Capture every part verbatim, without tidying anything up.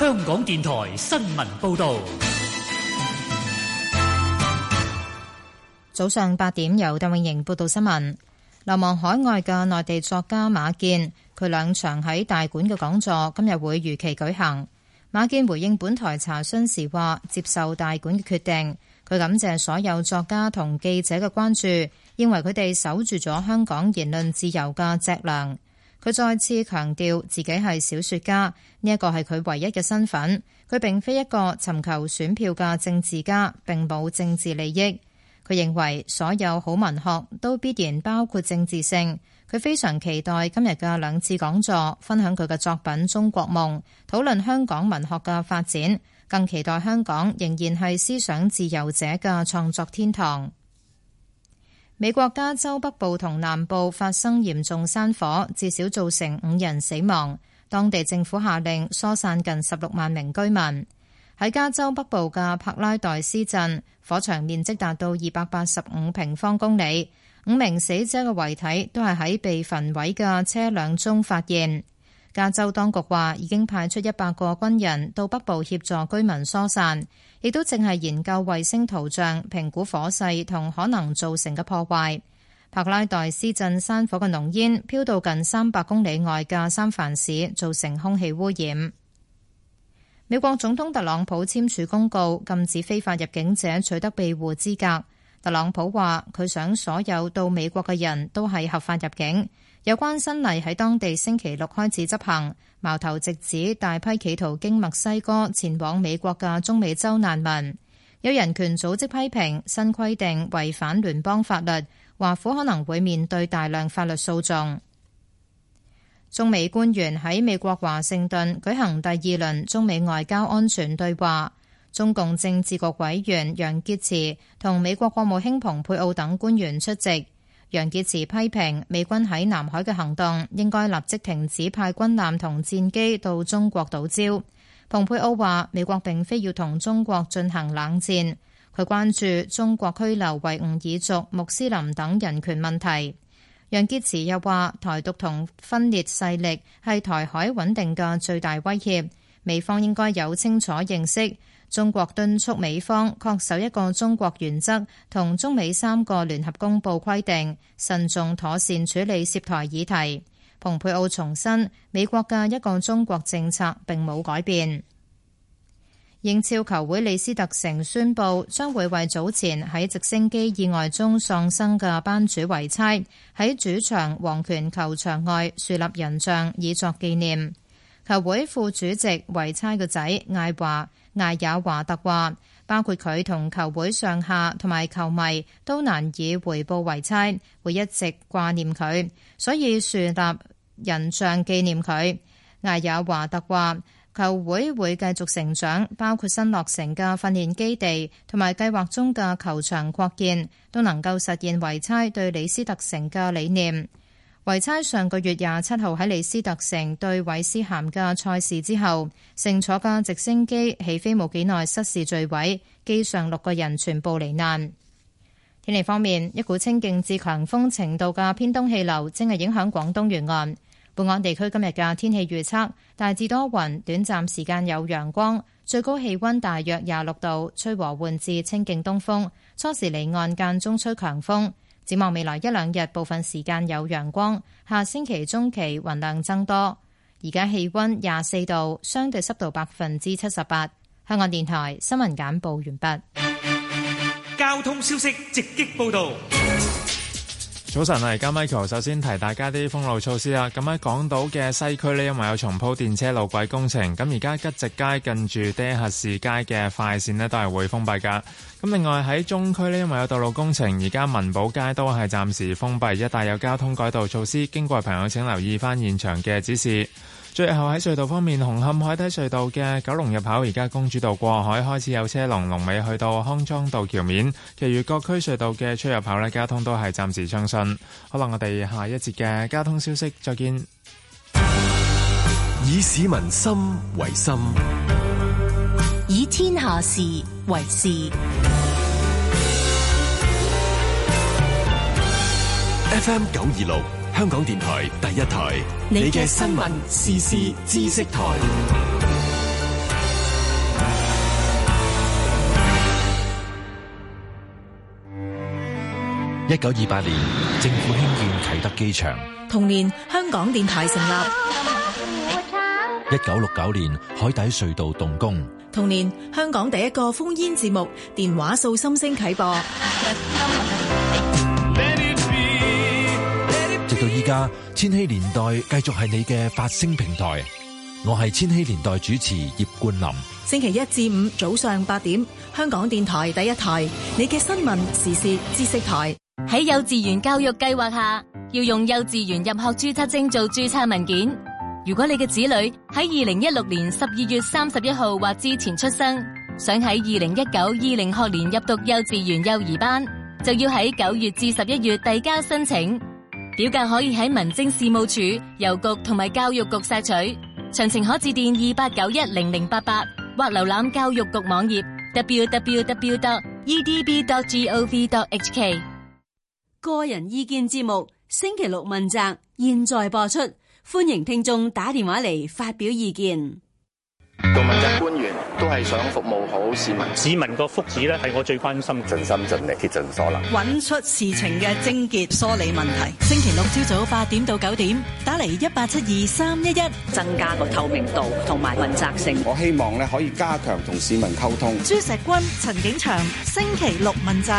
香港電台新聞報道。 早上八點，由鄧永瑩報道新聞。流亡海外嘅內地作家馬建，佢兩場喺大館嘅講座今日會如期舉行。馬建回應本台查詢時話，接受大館嘅決定。佢感謝所有作家同記者嘅關注，認為佢哋守住咗香港言論自由嘅脊梁。佢再次強調自己係小說家，呢一個係佢唯一嘅身份。佢並非一個尋求選票嘅政治家，並冇政治利益。佢認為所有好文學都必然包括政治性。佢非常期待今日嘅兩次講座，分享佢嘅作品《中國夢》，討論香港文學嘅發展，更期待香港仍然係思想自由者嘅創作天堂。美國加州北部同南部發生嚴重山火，至少造成五人死亡。當地政府下令疏散近十六萬名居民。喺加州北部嘅柏拉代斯鎮，火場面積達到二百八十五平方公里。五名死者嘅遺體都係喺被焚毀嘅車輛中發現。加州當局話已經派出一百個軍人到北部協助居民疏散，亦都正係研究衛星圖像，評估火勢同可能造成嘅破壞。柏拉代斯鎮山火嘅濃煙飄到近三百公里外嘅三藩市，造成空氣污染。美國總統特朗普簽署公告，禁止非法入境者取得庇護資格。特朗普話佢想所有到美國嘅人都係合法入境。有關新例喺當地星期六開始執行，矛頭直指大批企圖經墨西哥前往美國嘅中美洲難民。有人權組織批評新規定違反聯邦法律，華府可能會面對大量法律訴訟。中美官員喺美國華盛頓舉行第二輪中美外交安全對話。中共政治局委員楊潔篪同美國國務卿蓬佩奧等官員出席。楊潔篪批評美軍喺南海嘅行動應該立即停止派軍艦同戰機到中國島礁。蓬佩奧話美國並非要同中國進行冷戰，佢關注中國拘留維吾爾族、穆斯林等人權問題。楊潔篪又話台獨同分裂勢力係台海穩定嘅最大威脅，美方應該有清楚認識。中國敦促美方恪守一個中國原則同中美三個聯合公報規定，慎重妥善處理涉台議題。蓬佩奧重申美國嘅一個中國政策並冇改變。英超球會李斯特城宣布將會為早前喺直升機意外中喪生嘅班主維差喺主場皇權球場外樹立人像以作紀念。球會副主席維差嘅仔艾華艾也華特話，包括佢同球會上下同埋球迷都難以回報維差，會一直掛念佢，所以樹立人像紀念佢。艾也華特話，球會會繼續成長，包括新落成嘅訓練基地同埋計劃中嘅球場擴建，都能夠實現維差對李斯特城嘅理念。維差上個月廿七號喺李斯特城對韋斯咸嘅賽事之後，乘坐嘅直升機起飛冇幾耐失事墜毀，機上六個人全部罹難。天氣方面，一股清勁至強風程度嘅偏東氣流正係影響廣東沿岸。本港地區今日嘅天氣預測大致多雲，短暫時間有陽光，最高氣溫大約廿六度，吹和緩至清勁東風，初時離岸間中吹強風。展望未來一兩日，部分時間有陽光。下星期中期雲量增多。而家氣溫廿四度，相對濕度百分之七十八。香港電台新聞簡報完畢。 交通消息直擊報道。 早晨啊，而家 Michael 首先提大家啲封路措施啦。咁喺港島嘅西區呢，因為有重鋪電車路軌工程，咁而家吉直街近住爹核士街嘅快線呢都係會封閉噶。咁另外喺中區呢，因為有道路工程，而家文寶街都係暫時封閉，一帶有交通改道措施，經過朋友請留意翻現場嘅指示。最後喺隧道方面，紅磡海底隧道嘅九龍入口而家公主道過海開始有車龍，龍尾去到康莊道橋面，其餘各區隧道嘅出入口呢，交通都係暫時暢順。好啦，我哋下一節嘅交通消息再見。 以市民心為心， 以天下事為事。 F M 九二六香港電台第一台，你嘅新聞時事知識台。 一九二八年，政府興建啟德機場。 同年，香港電台成立。 一九六九年，海底隧道動工。 同年，香港第一個烽煙節目《電話訴心聲》啟播。 直到依家，千禧年代繼續係你嘅發聲平台。我係千禧年代主持葉冠霖。 星期一至五早上八點，香港電台第一台，你嘅新聞時事知識台。 喺幼稚園教育計劃下，要用幼稚園入學註冊證做註冊文件。如果你嘅子女喺二零一六年十二月三十一號或之前出生，想喺二零一九二零學年入讀幼稚園幼兒班，就要喺九月至十一月遞交申請。表格可以喺民政事務處、郵局同埋教育局索取。詳情可致電二八九一零零八八或瀏覽教育局網頁 double-u double-u double-u dot e d b dot gov dot h k。 個人意見節目星期六問責，現在播出，歡迎聽眾打電話嚟發表意見。 做問責官員都係想服務好市民， 市民個福祉咧係我最關心， 盡心盡力竭盡所能， 揾出事情嘅症結，梳理問題。 星期六朝早八點到九點，打嚟一八七二三一一， 增加個透明度同埋問責性。 我希望咧可以加強同市民溝通。 朱錫君、陳景祥，星期六問責。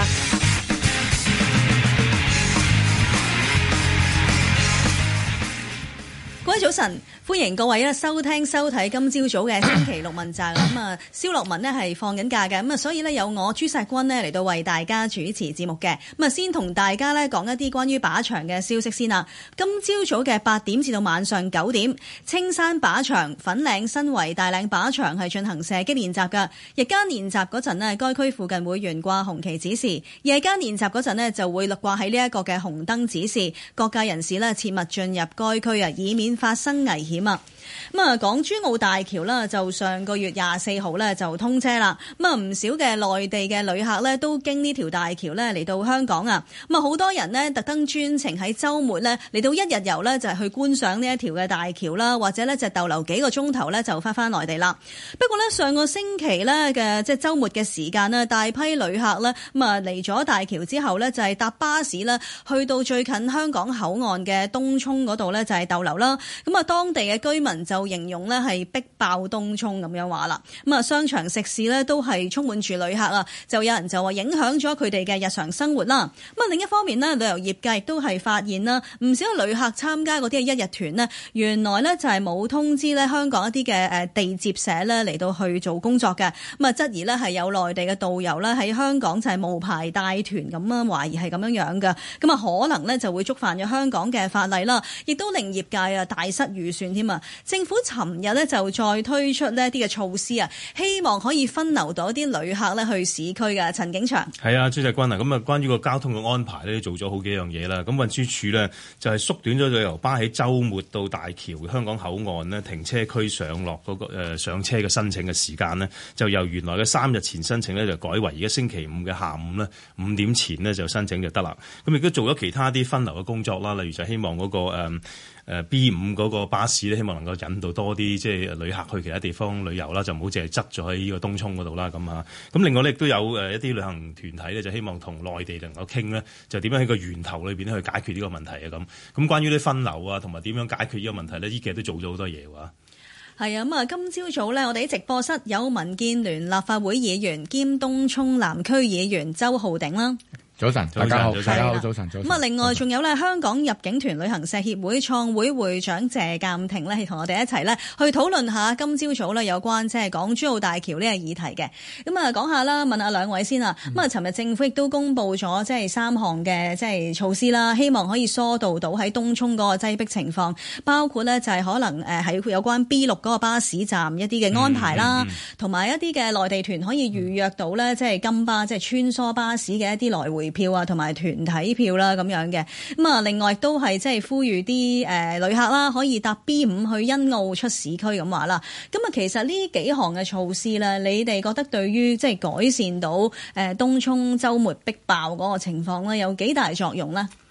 各位早晨，歡迎各位咧收聽收睇今朝早嘅星期六問責。咁啊，蕭樂文呢係放緊假嘅，咁啊，所以呢，有我朱錫君呢嚟到為大家主持節目嘅。咁啊，先同大家呢講一啲關於靶場嘅消息先啦。今朝早嘅八點至到晚上九點，青山靶場、粉嶺新圍大嶺靶場係進行射擊練習㗎。日間練習嗰陣呢，該區附近會懸掛紅旗指示；夜間練習嗰陣呢，就會掛喺呢一個嘅紅燈指示，各界人士呢切勿進入該區啊，以免發生危險啊！咁啊，港珠澳大橋啦，就上個月廿四號咧就通車啦。咁啊，唔少嘅內地嘅旅客咧都經呢條大橋咧嚟到香港啊。咁啊，好多人呢特登專程喺週末咧嚟到一日遊咧，就係去觀賞呢一條嘅大橋啦，或者咧就逗留幾個鐘頭咧就翻返內地啦。不過咧，上個星期咧嘅即係週末嘅時間呢，大批旅客咧咁啊嚟咗大橋之後咧，就係搭巴士啦，去到最近香港口岸嘅東涌嗰度咧就係逗留啦。咁啊，當地嘅居民就形容咧係逼爆東涌咁樣話啦，咁啊商場食肆咧都係充滿住旅客啊，就有人就話影響咗佢哋嘅日常生活啦。咁啊另一方面呢，旅遊業界亦都係發現啦，唔少旅客參加嗰啲一日團呢，原來呢就係冇通知咧香港一啲嘅誒地接社咧嚟到去做工作嘅，咁啊質疑呢係有內地嘅導遊咧喺香港就係無牌帶團咁啊，懷疑係咁樣樣嘅，咁啊可能呢就會觸犯咗香港嘅法例啦，亦都令業界啊大失預算添啊。政府尋日咧就再推出呢一啲嘅措施啊，希望可以分流到一啲旅客咧去市區嘅。陳景祥， 係啊，朱錫君啊，咁啊關於個交通嘅安排咧，做咗好幾樣嘢啦。咁運輸署咧就係縮短咗旅遊巴喺週末到大橋香港口岸呢停車區上落嗰、那個、呃、上車嘅申請嘅時間呢，就由原來嘅三日前申請咧就改為而家星期五嘅下午呢五點前呢就申請就得啦。咁亦都做咗其他啲分流嘅工作啦，例如就希望嗰、那個誒。呃誒 B 五嗰個巴士咧，希望能夠引導多啲即係旅客去其他地方旅遊啦，就唔好淨係執咗喺呢個東涌嗰度啦咁嚇。咁另外咧亦都有誒一啲旅行團體咧，就希望同內地能夠傾咧，就點樣喺個源頭裏邊咧去解決呢個問題啊咁。咁關於啲分流啊，同埋點樣解決呢個問題咧，呢幾日都做咗好多嘢喎。 係啊，咁啊，今朝早咧，我哋喺直播室有民建聯立法會議員兼東涌南區議員周浩鼎啦。 早晨，大家好，大家好，早晨，早晨。 咁啊，另外仲有咧，香港入境團旅行社協會創會會長謝鑑庭咧，係同我哋一齊咧去討論下今朝早咧有關即係港珠澳大橋呢個議題嘅。咁啊，講下啦，問下兩位先啊。咁啊，尋日政府亦都公布咗即係三項嘅即係措施啦，希望可以疏導到喺東涌嗰個擠迫情況，包括咧就係可能誒喺有關 B 六嗰個巴士站一啲嘅安排啦，同埋、嗯嗯、一啲嘅內地團可以預約到咧，即係金巴即係穿梭巴士嘅一啲來回票啊，同埋團體票啦咁樣嘅。咁啊，另外都係即係呼籲啲誒旅客啦，可以搭 B 五去欣澳出市區咁話啦。咁啊，其實呢幾項嘅措施咧，你哋覺得對於即係改善到誒東涌週末逼爆嗰個情況咧，有幾大作用咧？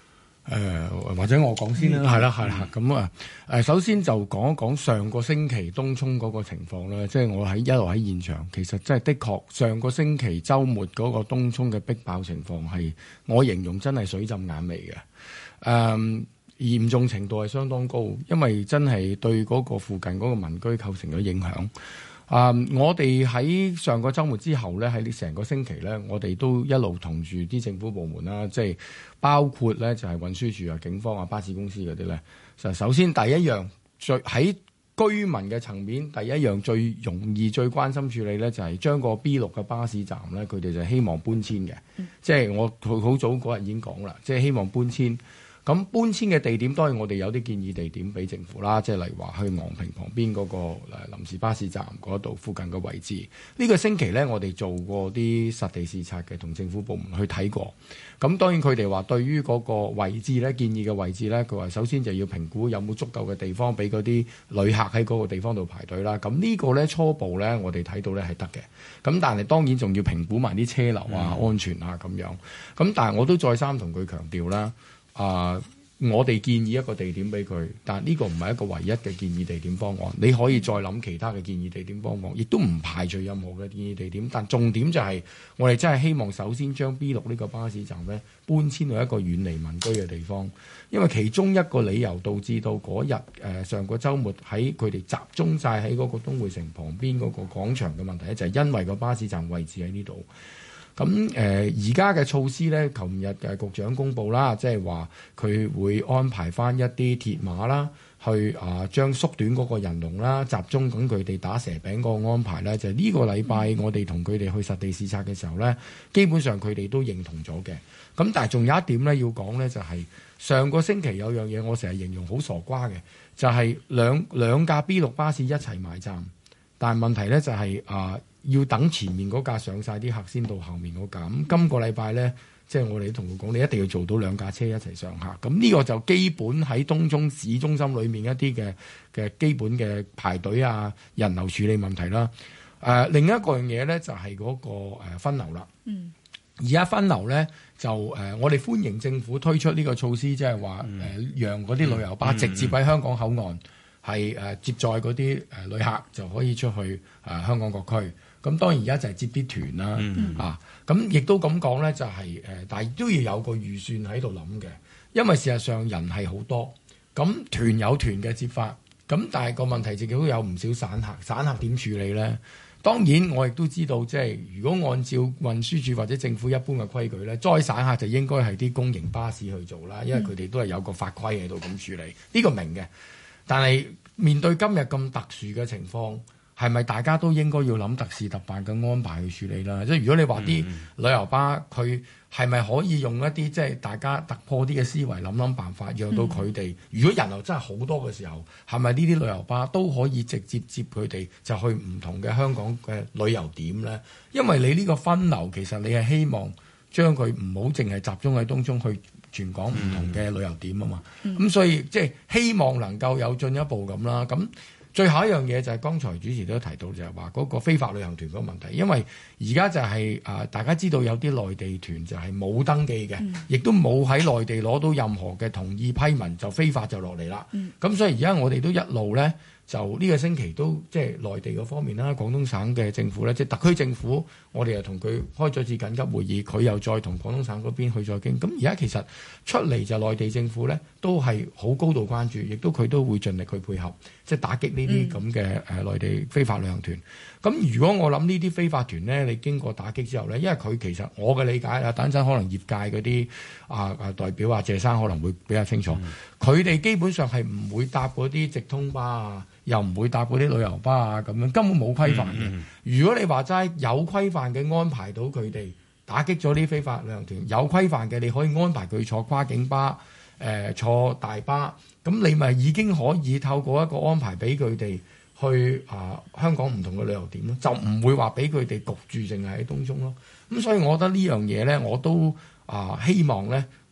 誒、呃、或者我講先啦，係啦係啦，咁啊誒首先就講一講上個星期東涌嗰個情況啦，即係我喺一路喺現場，其實真係的確上個星期週末嗰個東涌嘅逼爆情況係我形容真係水浸眼眉嘅，誒、嗯、嚴重程度係相當高，因為真係對嗰個附近嗰個民居構成咗影響。啊、嗯！我哋喺上個週末之後咧，喺呢成個星期咧，我哋都一路同住啲政府部門啦，即係包括咧就係運輸署啊、警方啊、巴士公司嗰啲咧。就首先第一樣最喺居民嘅層面，第一樣最容易最關心處理咧，就係將個 B 六嘅巴士站咧，佢哋就希望搬遷嘅。嗯、即係我好早嗰日已經講啦，即係希望搬遷。咁搬遷嘅地點當然我哋有啲建議地點俾政府啦，即係例如話去昂坪旁邊嗰個誒臨時巴士站嗰度附近嘅位置。呢、呢個星期咧，我哋做過啲實地視察嘅，同政府部門去睇過。咁當然佢哋話對於嗰個位置咧，建議嘅位置咧，佢話首先就要評估有冇足夠嘅地方俾嗰啲旅客喺嗰個地方度排隊啦。咁呢個咧初步咧，我哋睇到咧係得嘅。咁但係當然仲要評估埋啲車流啊、安全啊咁樣。咁但係我都再三同佢強調啦。啊、呃！我哋建議一個地點俾佢，但係呢個唔係一個唯一嘅建議地點方案。你可以再諗其他嘅建議地點方案，亦都唔排除任何嘅建議地點。但重點就係、是、我哋真係希望首先將 B 六呢個巴士站咧搬遷到一個遠離民居嘅地方，因為其中一個理由導致到嗰日誒上個週末喺佢哋集中晒喺嗰個東匯城旁邊嗰個廣場嘅問題咧，就係、是、因為個巴士站位置喺呢度。咁誒而家嘅措施咧，琴日嘅局長公布啦，即係話佢會安排翻一啲鐵馬啦，去啊將縮短嗰個人龍啦，集中咁佢哋打蛇餅嗰個安排咧，就係、是、呢個禮拜我哋同佢哋去實地視察嘅時候咧，基本上佢哋都認同咗嘅。咁但係仲有一點咧要講咧，就係、是、上個星期有樣嘢我成日形容好傻瓜嘅，就係、是、兩兩架 B 六巴士一齊埋站，但係問題咧就係、是、啊。要等前面嗰架上晒啲客先到後面嗰架。咁今個禮拜咧，即係我哋同佢講，你一定要做到兩架車一齊上客。咁呢個就基本喺東涌市中心裏面一啲嘅嘅基本嘅排隊啊、人流處理問題啦。誒、呃，另一個樣嘢咧就係、是、嗰個誒分流啦。嗯。而家分流咧就誒、呃，我哋歡迎政府推出呢個措施，即係話誒，讓嗰啲旅遊巴直接喺香港口岸係誒、呃、接載嗰啲誒旅客就可以出去誒、呃、香港各區。咁當然而家就係接啲團啦，嗯、啊，咁亦都咁講咧，就係、是、誒，但係都要有個預算喺度諗嘅，因為事實上人係好多，咁團有團嘅接法，咁但係個問題亦都有唔少散客，散客點處理咧？當然我亦都知道，即係如果按照運輸署或者政府一般嘅規矩咧，載散客就應該係啲公營巴士去做啦，因為佢哋都係有個法規喺度咁處理，呢、呢個明嘅。但係面對今日咁特殊嘅情況，係咪大家都應該要諗特事特辦嘅安排去處理啦？即係如果你話啲旅遊巴佢係咪可以用一啲即係大家突破啲嘅思維諗諗辦法，讓到佢哋、嗯、如果人流真係好多嘅時候，係咪呢啲旅遊巴都可以直接接佢哋就去唔同嘅香港嘅旅遊點咧？因為你呢個分流其實你係希望將佢唔好淨係集中喺東涌去全港唔同嘅旅遊點啊嘛。咁、嗯、所以即係希望能夠有進一步咁啦。咁最後一樣嘢就係剛才主持都提到，就係話嗰個非法旅行團嗰個問題，因為而家就係、是、啊、呃，大家知道有啲內地團就係冇登記嘅，亦、嗯、都冇喺內地攞到任何嘅同意批文，就非法就落嚟啦。咁、嗯、所以而家我哋都一路咧，就呢個星期都即係內地嗰方面啦，廣東省嘅政府咧，即係特區政府，我哋又同佢開咗次緊急會議，佢又再同廣東省嗰邊去再傾。咁而家其實出嚟就內地政府咧，都係好高度關注，亦都佢都會盡力去配合，即係打擊呢啲咁嘅誒內地非法旅行團。咁、嗯、如果我諗呢啲非法團咧，你經過打擊之後咧，因為佢其實我嘅理解啊，等陣可能業界嗰啲啊啊代表啊謝生可能會比較清楚，佢哋、嗯、基本上係唔會搭嗰啲直通巴啊，又唔會搭嗰啲旅遊巴啊，咁樣根本冇規範嘅。嗯嗯、如果你話齋有規範嘅安排到佢哋打擊咗啲非法旅行團，有規範嘅你可以安排佢坐跨境巴、誒、呃、坐大巴，咁你咪已經可以透過一個安排俾佢哋去啊、呃、香港唔同嘅旅遊點咯，就唔會話俾佢哋焗住淨係喺東涌咯。咁所以我覺得呢樣嘢咧，我都啊、呃、希望咧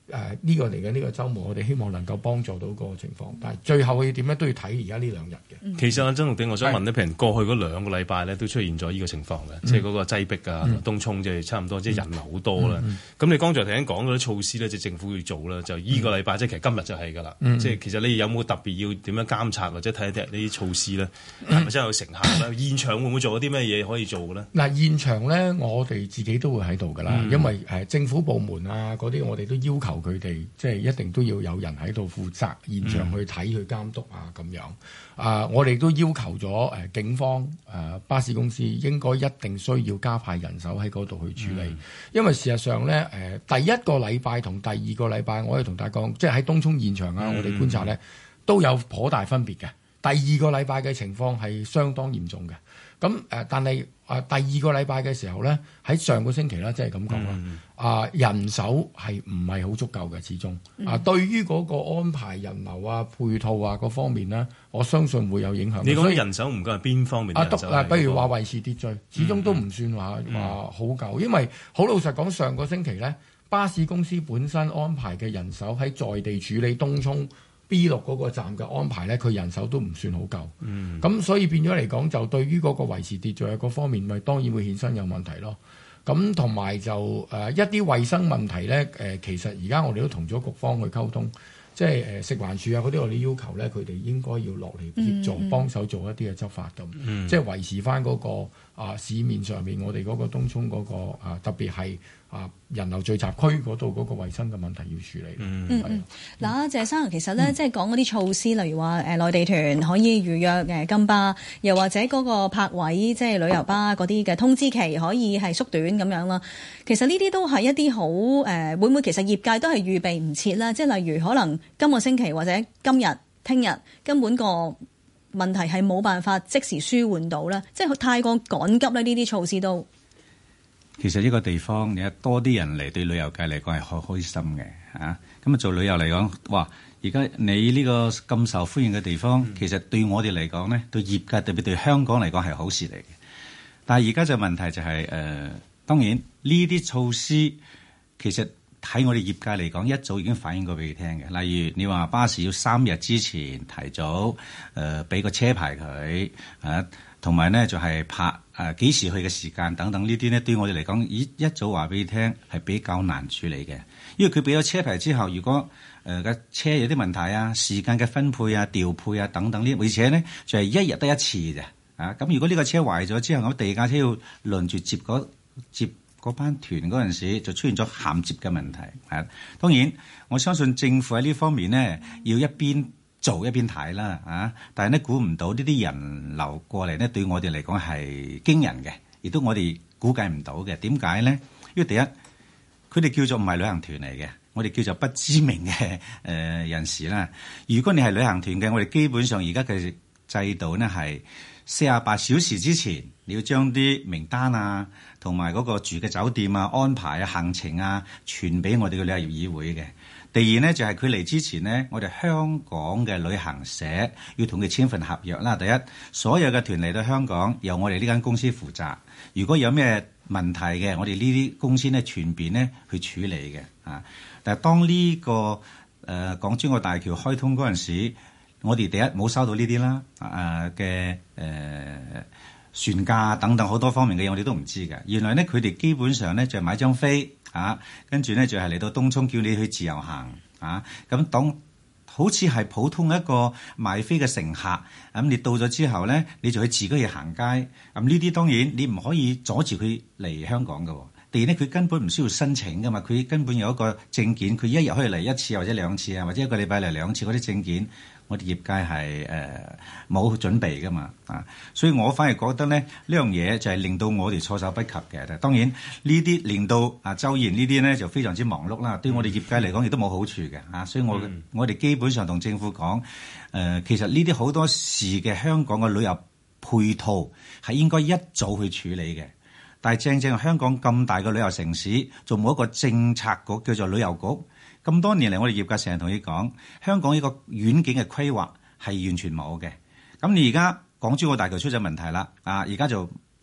誒呢、呃這個嚟嘅呢個週末，我哋希望能夠幫助到個情況，但係最後要點咧都要睇而家呢兩日嘅。 嗯、其實阿曾浩鼎，我想問咧，譬如過去嗰兩個禮拜咧都出現咗呢個情況嘅，嗯、即係嗰個擠迫啊，嗯、東涌即係差唔多，即係人流好多啦。咁、嗯嗯、你剛才頭先講嗰啲措施咧，即係政府要做啦，就依個禮拜、嗯、即係其實今日就係㗎啦。嗯、即係其實你有冇特別要點樣監察或者睇一睇呢啲措施咧，係咪真係有成效咧？現場會唔會做啲咩嘢可以做嘅咧？嗱， 現場咧我哋自己都會喺度㗎啦，嗯、因為誒政府部門啊嗰啲我哋都要求佢哋即係一定都要有人喺度負責現場去睇、嗯、去監督啊咁樣。啊！我哋都要求咗誒、呃、警方誒、呃、巴士公司應該一定需要加派人手喺嗰度去處理，嗯、因為事實上咧誒、呃、第一個禮拜同第二個禮拜，我可以同大家講，即係喺東涌現場啊，嗯、我哋觀察咧都有頗大分別嘅。第二個禮拜嘅情況係相當嚴重嘅。咁誒、呃，但係啊、呃，第二個禮拜嘅時候咧，喺上個星期啦，即係咁講啦，啊、呃，人手係唔係好足夠嘅，始終啊、呃，對於嗰個安排人流啊、配套啊各方面咧，我相信會有影響。 你講人手唔夠係邊方面？啊，督啊，比如話維持秩序，始終都唔算話話、嗯、好夠，因為好老實講，上個星期咧，巴士公司本身安排嘅人手喺在，在地處理東涌 B 六嗰個站嘅安排咧，佢人手都唔算好夠。咁、嗯、所以變咗嚟講，就對於嗰個維持秩序嗰方面，咪當然會衍生有問題咯。咁同埋就誒、呃、一啲衛生問題咧，誒、呃、其實而家我哋都同咗局方去溝通，即係誒、呃、食環署啊嗰啲，我哋要求咧，佢哋應該要落嚟協助幫手、嗯、做一啲嘅執法咁，嗯、即係維持翻、那、嗰個啊、呃、市面上面我哋嗰個東涌嗰、那個啊、呃、特別係。啊！人流聚集區嗰度嗰個衞生嘅問題要處理。 嗯嗯。嗱，謝生其實咧，嗯、即係講嗰啲措施，例如話誒、呃、內地團可以預約誒金巴，又或者嗰個泊位即係旅遊巴嗰啲嘅通知期可以係縮短咁樣啦。其實呢啲都係一啲好誒，會唔會其實業界都係預備唔切啦？即係例如可能今個星期或者今日、聽日根本個問題係冇辦法即時舒緩到啦，即係太過趕急咧。呢啲措施都。 其實呢個地方，你有多啲人嚟，對旅遊界嚟講係好開心嘅嚇。咁啊，做旅遊嚟講，哇！而家你呢個咁受歡迎嘅地方，嗯、其實對我哋嚟講咧，對業界特別對香港嚟講係好事嚟嘅。但係而家就問題就係、是、誒、呃，當然呢啲措施其實喺我哋業界嚟講，一早已經反映過俾你聽嘅。例如你話巴士要三日之前提早誒俾個車牌佢啊。同埋咧就係拍誒幾時去嘅時間等等呢啲咧，對我哋嚟講，一一早話俾你聽係比較難處理嘅，因為佢俾咗車牌之後，如果誒嘅、呃、車有啲問題啊、時間嘅分配啊、調配啊等等呢，而且咧就係、是、一日得一次嘅啊。咁如果呢個車壞咗之後，咁第二架車要輪住接嗰接嗰班團嗰陣時，就出現咗銜接嘅問題啊。當然，我相信政府喺呢方面咧要一邊做一邊睇啦，啊！但係咧估唔到呢啲人流過嚟咧，對我哋嚟講係驚人嘅，亦都我哋估計唔到嘅。點解咧？因為第一，佢哋叫做唔係旅行團嚟嘅，我哋叫做不知名嘅誒、呃、人士啦。如果你係旅行團嘅，我哋基本上而家嘅制度呢係四十八小時之前，你要將啲名單啊，同埋嗰個住嘅酒店啊、安排啊、行程啊，傳俾我哋嘅旅遊業議會嘅。第二呢，就係佢嚟之前呢，我哋香港嘅旅行社要同佢簽份合約啦。第一，所有嘅團嚟到香港由我哋呢間公司負責。如果有咩問題嘅，我哋呢啲公司呢全便呢去處理嘅啊。但係當呢、這個誒、呃、港珠澳大橋開通嗰陣時，我哋第一冇收到呢啲啦啊嘅誒船價等等好多方面嘅嘢，我哋都唔知嘅。原來呢，佢哋基本上呢就係買張飛。啊，跟住咧就係、是、嚟到東涌叫你去自由行啊，咁當好似係普通一個買飛嘅乘客，咁、啊、你到咗之後咧，你就去自己去行街，咁呢啲當然你唔可以阻住佢嚟香港㗎。第二咧，佢根本唔需要申請㗎嘛，佢根本有一個證件，佢一日可以嚟一次或者兩次啊，或者一個禮拜嚟兩次嗰啲證件。我哋業界係誒冇準備噶嘛啊，所以我反而覺得咧呢樣嘢就係令到我哋措手不及嘅。當然呢啲令到啊周賢呢啲咧就非常之忙碌啦，對我哋業界嚟講亦都冇好處嘅啊。所以我、嗯、我哋基本上同政府講誒、呃，其實呢啲好多事嘅香港嘅旅遊配套係應該一早去處理嘅，但係正正香港咁大嘅旅遊城市，仲冇一個政策局叫做旅遊局。咁多年嚟，我哋業界成日同你講，香港呢個遠景嘅規劃係完全冇嘅。咁你而家港珠澳大橋出咗問題啦，啊，而家就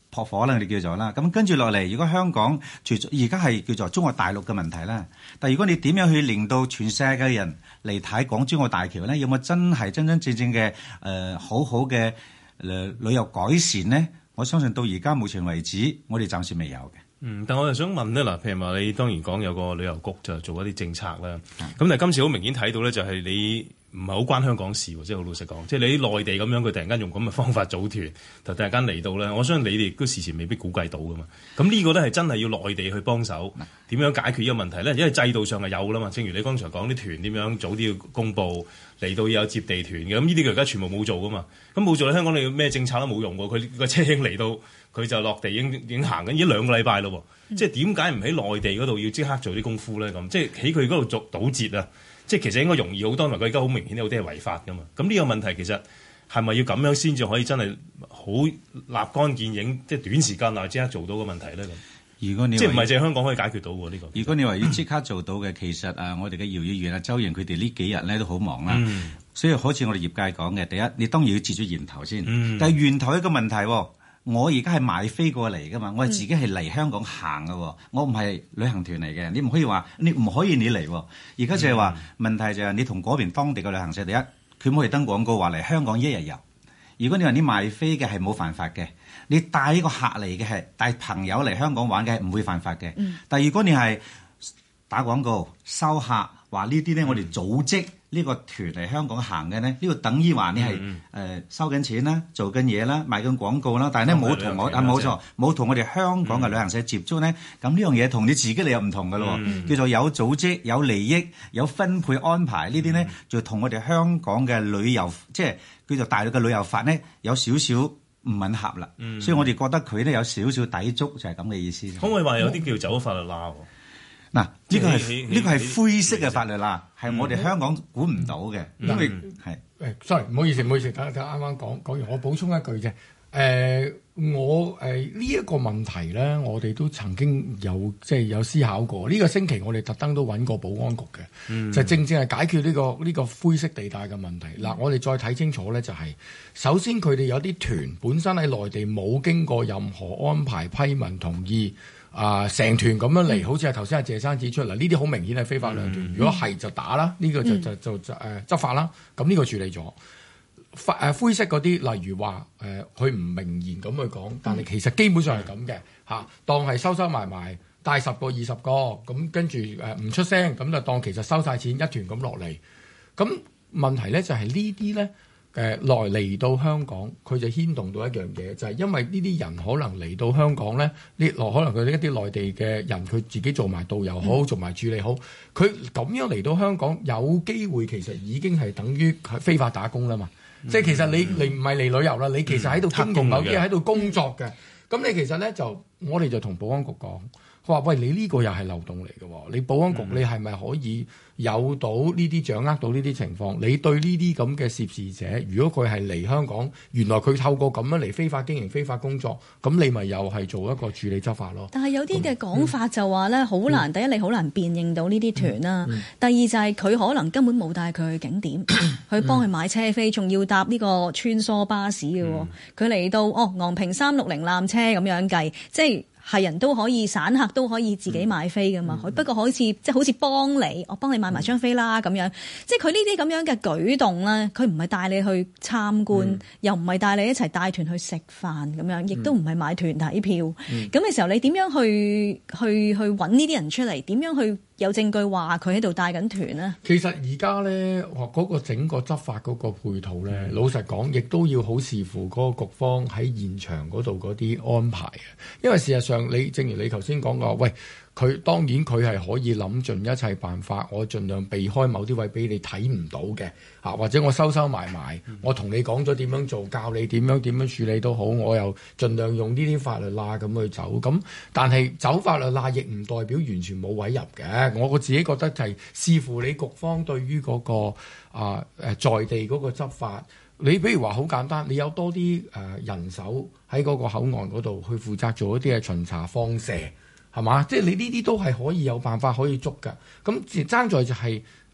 撲火啦，我哋叫做啦。咁跟住落嚟，如果香港除咗而家係叫做中國大陸嘅問題啦，但係如果你點樣去令到全世界嘅人嚟睇港珠澳大橋咧，有冇真係真真正正嘅誒、呃、好好嘅誒、呃、旅遊改善咧？我相信到而家目前為止，我哋暫時未有嘅。 嗯，但我又想問咧，嗱，譬如話你當然講有個旅遊局就做一啲政策啦，咁、嗯、但係今次好明顯睇到咧，就係你唔係好關香港事喎，即係好老實講，即係你啲內地咁樣，佢突然間用咁嘅方法組團，就突然間嚟到咧，我相信你哋都事前未必估計到噶嘛。咁呢個咧係真係要內地去幫手，點樣解決呢個問題咧？因為制度上係有啦嘛，正如你剛才講啲團點樣早啲要公佈，嚟到要有接地團嘅，咁呢啲佢而家全部冇做噶嘛。咁冇做咧，香港你咩政策都冇用喎，佢個車已經嚟到。佢就落地已經已經行緊，已經兩個禮拜咯。嗯、即係點解唔喺內地嗰度要即刻做啲功夫咧？咁即係喺佢嗰度做堵截啊！即係其實應該容易好多，因為佢而家好明顯有啲係違法噶嘛。咁呢個問題其實係咪要咁樣先至可以真係好立竿見影，即係短時間內即刻做到個問題咧？咁如果你即係唔係淨係香港可以解決到喎呢、呢個？ 如果你話要即刻做到嘅，其實啊，我哋嘅姚議員啊、周營佢哋呢幾日咧都好忙啦。嗯、所以好似我哋業界講嘅，第一你當然要截咗源頭先。嗯、但係源頭一個問題喎。我而家係買飛過嚟噶嘛，我係自己係嚟香港行噶，嗯、我唔係旅行團嚟嘅，你唔可以話你唔可以你嚟。而家就係話、嗯、問題就係你同嗰邊當地嘅旅行社，第一佢唔可以登廣告話嚟香港一日遊。如果你話你賣飛嘅係冇犯法嘅，你帶呢個客嚟嘅係帶朋友嚟香港玩嘅係唔會犯法嘅。嗯、但係如果你係打廣告收客話呢啲咧，我哋組織。呢個團嚟香港行嘅呢，呢、呢個等於話你係誒、嗯呃、收緊錢啦，做緊嘢啦，賣緊廣告啦，但係呢冇同我啊冇錯冇同我哋香港嘅旅行社接觸呢。咁呢樣嘢同你自己嚟又唔同㗎咯，嗯、叫做有組織、有利益、有分配安排呢啲呢，嗯、就同我哋香港嘅旅遊即係叫做大陸嘅旅遊法呢，有少少唔吻合啦，嗯、所以我哋覺得佢呢有少少抵觸，就係咁嘅意思。 可唔可以話有啲叫走法律罅？ 嗱，呢個係呢個係灰色嘅法律啦，係我哋香港管唔到嘅，因為係誒，sorry，唔好意思，唔好意思，等等啱啱講講完，我補充一句啫。誒、呃，我誒呢一個問題咧，我哋都曾經有即係有思考過。呢、這個星期我哋特登都揾過保安局嘅，嗯、就正正係解決呢、這個呢、這個灰色地帶嘅問題。嗱、嗯，我哋再睇清楚咧，就係、是、首先佢哋有啲團本身喺內地冇經過任何安排、批文、同意。啊！成、呃、團咁樣嚟，好似係頭先阿謝生指出嚟，呢啲好明顯係非法兩團。嗯、如果係就打啦，呢、呢個就就就就誒、呃、執法啦。咁呢個處理咗。法誒灰色嗰啲，例如話誒佢唔明言咁去講，但係其實基本上係咁嘅嚇，當係收收埋埋帶十個二十個咁，跟住誒唔出聲，咁就當其實收晒錢一團咁落嚟。咁問題咧就係呢啲咧。誒來嚟到香港，佢就牽動到一樣嘢，就係、是、因為呢啲人可能嚟到香港咧，呢來可能佢一啲內地嘅人，佢自己做埋導遊好，嗯、做埋處理好，佢咁樣嚟到香港，有機會其實已經係等於非法打工啦嘛。嗯、即係其實你你唔係嚟旅遊啦，你其實喺度經營某啲嘢喺度工作嘅。咁、嗯、你其實咧就我哋就同保安局講，佢話喂，你呢個又係漏洞嚟嘅喎，你保安局你係咪可以有到呢啲掌握到呢啲情況？你對呢啲咁嘅涉事者，如果佢係嚟香港，原來佢透過咁樣嚟非法經營、非法工作，咁你咪又係做一個處理執法咯。 但係有啲嘅講法就話咧，好、嗯、難。第一，你好難辨認到呢啲團啦；嗯嗯、第二就係佢可能根本冇帶佢去景點，去幫佢買車飛，仲要搭呢個穿梭巴士嘅。佢嚟、嗯、到哦，昂坪三六零纜車咁樣計，即係。係人都可以，散客都可以自己買飛噶嘛。嗯、不過好似即係好似幫你，我幫你買埋張飛啦咁樣。嗯、即係佢呢啲咁樣嘅舉動咧，佢唔係帶你去參觀，嗯、又唔係帶你一齊帶團去食飯咁樣，亦都唔係買團體票。咁嘅、嗯、時候，你點樣去去去揾呢啲人出嚟？點樣去有證據話佢喺度帶緊團呢？ 其實而家咧，嗰個整個執法嗰個配套咧，嗯、老實講，亦都要好視乎嗰個局方喺現場嗰度嗰啲安排嘅。因為事實上，你正如你頭先講過，喂，佢當然佢係可以諗盡一切辦法，我盡量避開某啲位俾你睇唔到嘅嚇，或者我收收埋埋，嗯、我同你講咗點樣做，教你點樣點樣處理都好，我又盡量用呢啲法律罅咁去走。咁但係走法律罅亦唔代表完全冇位入嘅。我我自己覺得就係視乎你局方對於嗰、嗰個啊誒在地嗰個執法。你比如話好簡單，你有多啲誒、呃、人手喺嗰個口岸嗰度去負責做一啲嘅巡查放射，係嘛？即係你呢啲都係可以有辦法可以捉㗎。咁爭在就係、是、誒、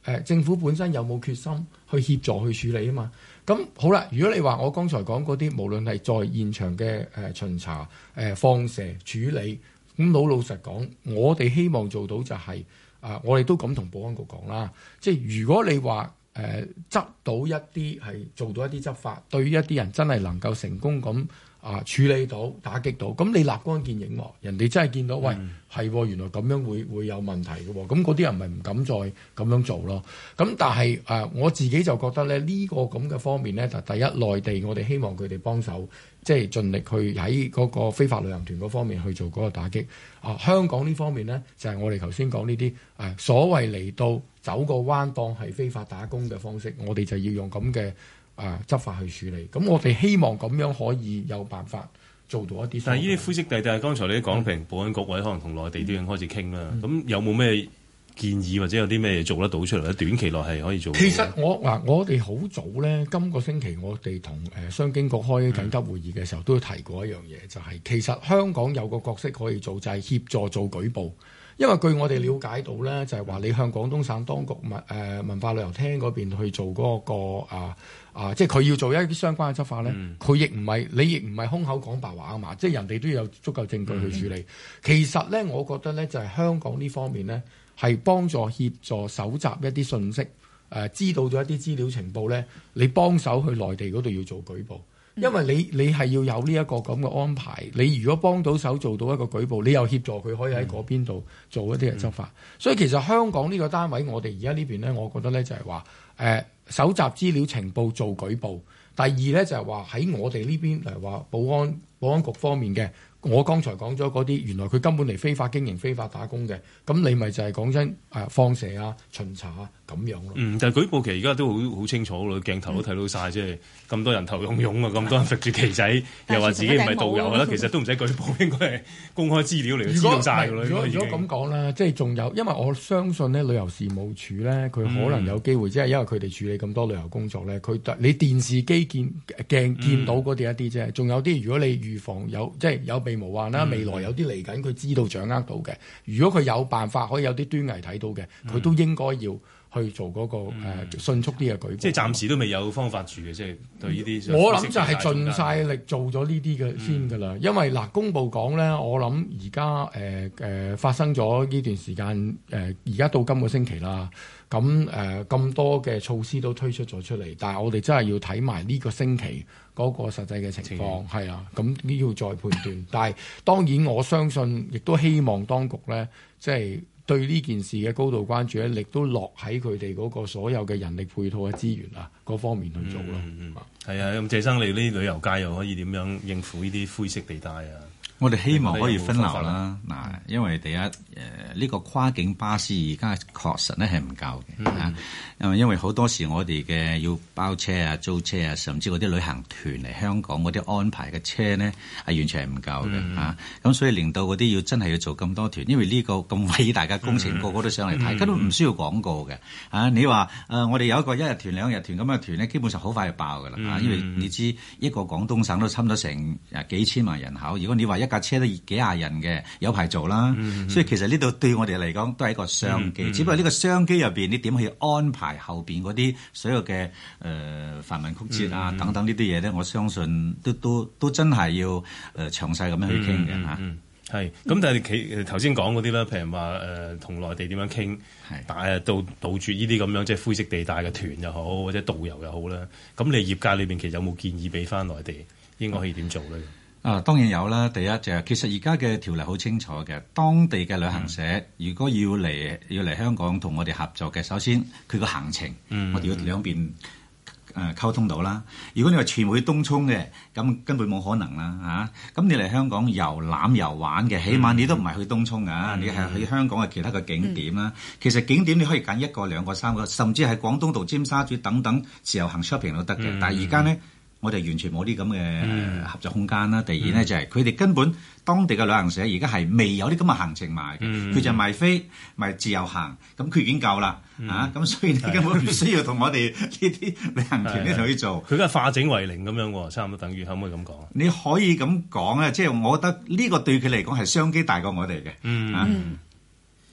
呃、政府本身有冇決心去協助去處理啊嘛。咁好啦，如果你話我剛才講嗰啲，無論係在現場嘅誒、呃、巡查、誒、呃、放射處理，咁老老實講，我哋希望做到就係、是、啊、呃，我哋都咁同保安局講啦，即係如果你話誒、呃、執到一啲係做到一啲執法，對於一啲人真係能夠成功咁啊處理到、打擊到，咁你立竿見影喎，人哋真係見到，喂係、嗯、原來咁樣會會有問題嘅喎，咁嗰啲人咪唔敢再咁樣做咯。咁但係誒、呃、我自己就覺得咧，呢、呢個咁嘅方面咧，就第一內地我哋希望佢哋幫手，即係盡力去喺嗰個非法旅行團嗰方面去做嗰個打擊。啊，香港呢方面咧，就係、是、我哋頭先講呢啲誒所謂嚟到走個彎當係非法打工嘅方式，我哋就要用咁嘅。啊！執法去處理，咁我哋希望咁樣可以有辦法做到一啲。 但係呢啲灰色地帶，剛才你都講，譬如保安局或者可能同內地都已經開始傾啦。咁、嗯、有冇咩建議或者有啲咩嘢做得到出嚟咧？短期內係可以做到。其實我嗱，我哋好早咧，今個星期我哋同誒商經局開緊急會議嘅時候，嗯、都提過一樣嘢，就係、是、其實香港有個角色可以做，就係、是、協助做舉報。因為據我哋了解到咧，就係、是、話你向廣東省當局文誒文化旅遊廳嗰邊去做嗰、那個啊啊，即係佢要做一啲相關嘅執法咧，佢亦唔係你亦唔係空口講白話啊嘛，即係人哋都要有足夠證據去處理。嗯、其實咧，我覺得咧就係、是、香港呢方面咧係幫助協助搜集一啲信息，誒、呃、知道咗一啲資料情報咧，你幫手去內地嗰度要做舉報。因為你你係要有呢一個咁嘅安排，你如果幫到手做到一個舉報，你又協助佢可以喺嗰邊度做一啲嘅執法。嗯、所以其實香港呢個單位，我哋而家呢邊咧，我覺得咧就係話誒搜集資料情報做舉報。第二咧就係話喺我哋呢邊嚟話保安保安局方面嘅。我剛才講咗嗰啲，原來佢根本嚟非法經營、非法打工嘅，咁你咪就係講真誒放射啊、巡查啊咁樣咯。嗯， 但係舉報期而家都好好清楚咯，鏡頭都睇到晒，即係咁多人頭湧湧啊，咁多人揈住旗仔，又話自己唔係導遊啦，其實都唔使舉報，應該係公開資料嚟，知道晒㗎啦。 如果如果咁講啦，即係仲有，因為我相信呢旅遊事務處咧，佢可能有機會，即係、嗯、因為佢哋處理咁多旅遊工作咧，佢你電視機見鏡見到嗰啲一啲啫，仲、嗯、有啲如果你預防有即係有備無患啦，嗯、未來有啲嚟緊，佢知道掌握到嘅。如果佢有辦法可以有啲端倪睇到嘅，佢、嗯、都應該要去做嗰、那個、嗯呃、迅速啲嘅舉報。即係暫時都未有方法住嘅，即係對呢啲。 我諗就係盡晒力做咗呢啲嘅先㗎啦。嗯、因為嗱、呃，公佈講咧，我諗而家誒誒發生咗呢段時間誒，而、呃、家到今個星期啦。咁誒咁多嘅措施都推出咗出嚟，但係我哋真係要睇埋呢個星期嗰個實際嘅情況，係啊，咁呢要再判斷。但係當然我相信，亦都希望當局咧，即係對呢件事嘅高度關注咧，亦都落喺佢哋嗰個所有嘅人力配套嘅資源啊嗰方面去做咯。 嗯嗯，係啊，咁謝生，你呢旅遊界又可以點樣應付呢啲灰色地帶啊？ 我哋希望可以分流啦，嗱，因為第一誒呢、呃這個跨境巴士而家確實咧係唔夠嘅嚇，因為、嗯、因為好多時我哋嘅要包車啊、租車啊，甚至嗰啲旅行團嚟香港嗰啲安排嘅車咧係完全係唔夠嘅嚇，咁、嗯啊、所以令到嗰啲要真係要做咁多團，因為呢個咁偉大嘅工程，嗯、個個都上嚟睇，根本唔需要廣告嘅嚇、啊。你話誒、呃、我哋有一個一日團、兩日團咁嘅團咧，基本上好快就爆㗎啦嚇，因為你知一個廣東省都差唔多成誒幾千萬人口，如果你話一一架車都幾廿人嘅，有排做啦。嗯、所以其實呢度對我哋嚟講都係一個商機。嗯嗯、只不過呢個商機入邊，你點去安排後邊嗰啲所有嘅誒繁文曲折啊、嗯、等等呢啲嘢咧？我相信都都都真係要誒詳細咁樣去傾嘅嚇。 係咁，但係佢頭先講嗰啲啦，譬如話誒同內地點樣傾，但係杜杜絕呢啲咁樣即係灰色地帶嘅團又好，或者導遊又好啦。咁你業界裏邊其實有冇建議俾翻內地應該可以點做咧？嗯啊，當然有啦。第一就係其實而家嘅條例好清楚嘅，當地嘅旅行社、嗯、如果要嚟要嚟香港同我哋合作嘅，首先佢個行程，嗯、我哋要兩邊誒、呃、溝通到啦。如果你話全部去東涌嘅，咁根本冇可能啦嚇。咁、啊、你嚟香港遊覽遊玩嘅，起碼你都唔係去東涌啊，嗯、你係去香港嘅其他嘅景點啦。嗯、其實景點你可以揀一個、兩個、三個，甚至係廣東道、尖沙咀等等自由行 shopping 都得嘅。嗯、但係而家呢。我哋完全冇啲咁嘅合作空間啦。嗯、第二咧就係佢哋根本當地嘅旅行社而家係未有啲咁嘅行程賣嘅，佢、嗯、就賣飛賣自由行，咁佢已經夠啦、嗯、啊！咁所以你根本唔需要同我哋呢啲旅行團咧去做。 佢而家化整為零咁樣喎，差唔多等於可唔可以咁講？ 你可以咁講啊，即係我覺得呢個對佢嚟講係商機大過我哋嘅。嗯。啊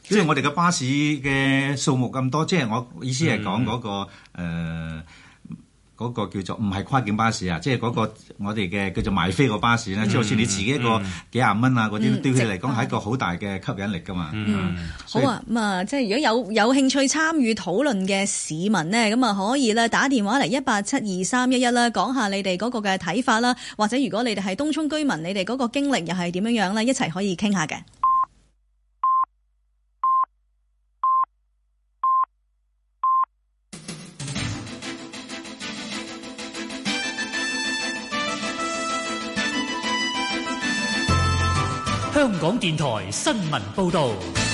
即係我哋嘅巴士嘅數目咁多，即係我意思係講嗰個誒。 嗯呃嗰個叫做唔係跨境巴士啊，即係嗰個我哋嘅叫做買飛個巴士咧，即係好似你自己一個幾廿蚊啊嗰啲，對佢嚟講係一個好大嘅吸引力噶嘛。 嗯，好啊，咁啊，即係如果有有興趣參與討論嘅市民呢，咁啊可以咧打電話嚟一八七二三一一啦，講下你哋嗰個嘅睇法啦，或者如果你哋係東涌居民，你哋嗰個經歷又係點樣樣咧，一齊可以傾下嘅。 香港電台新聞報道，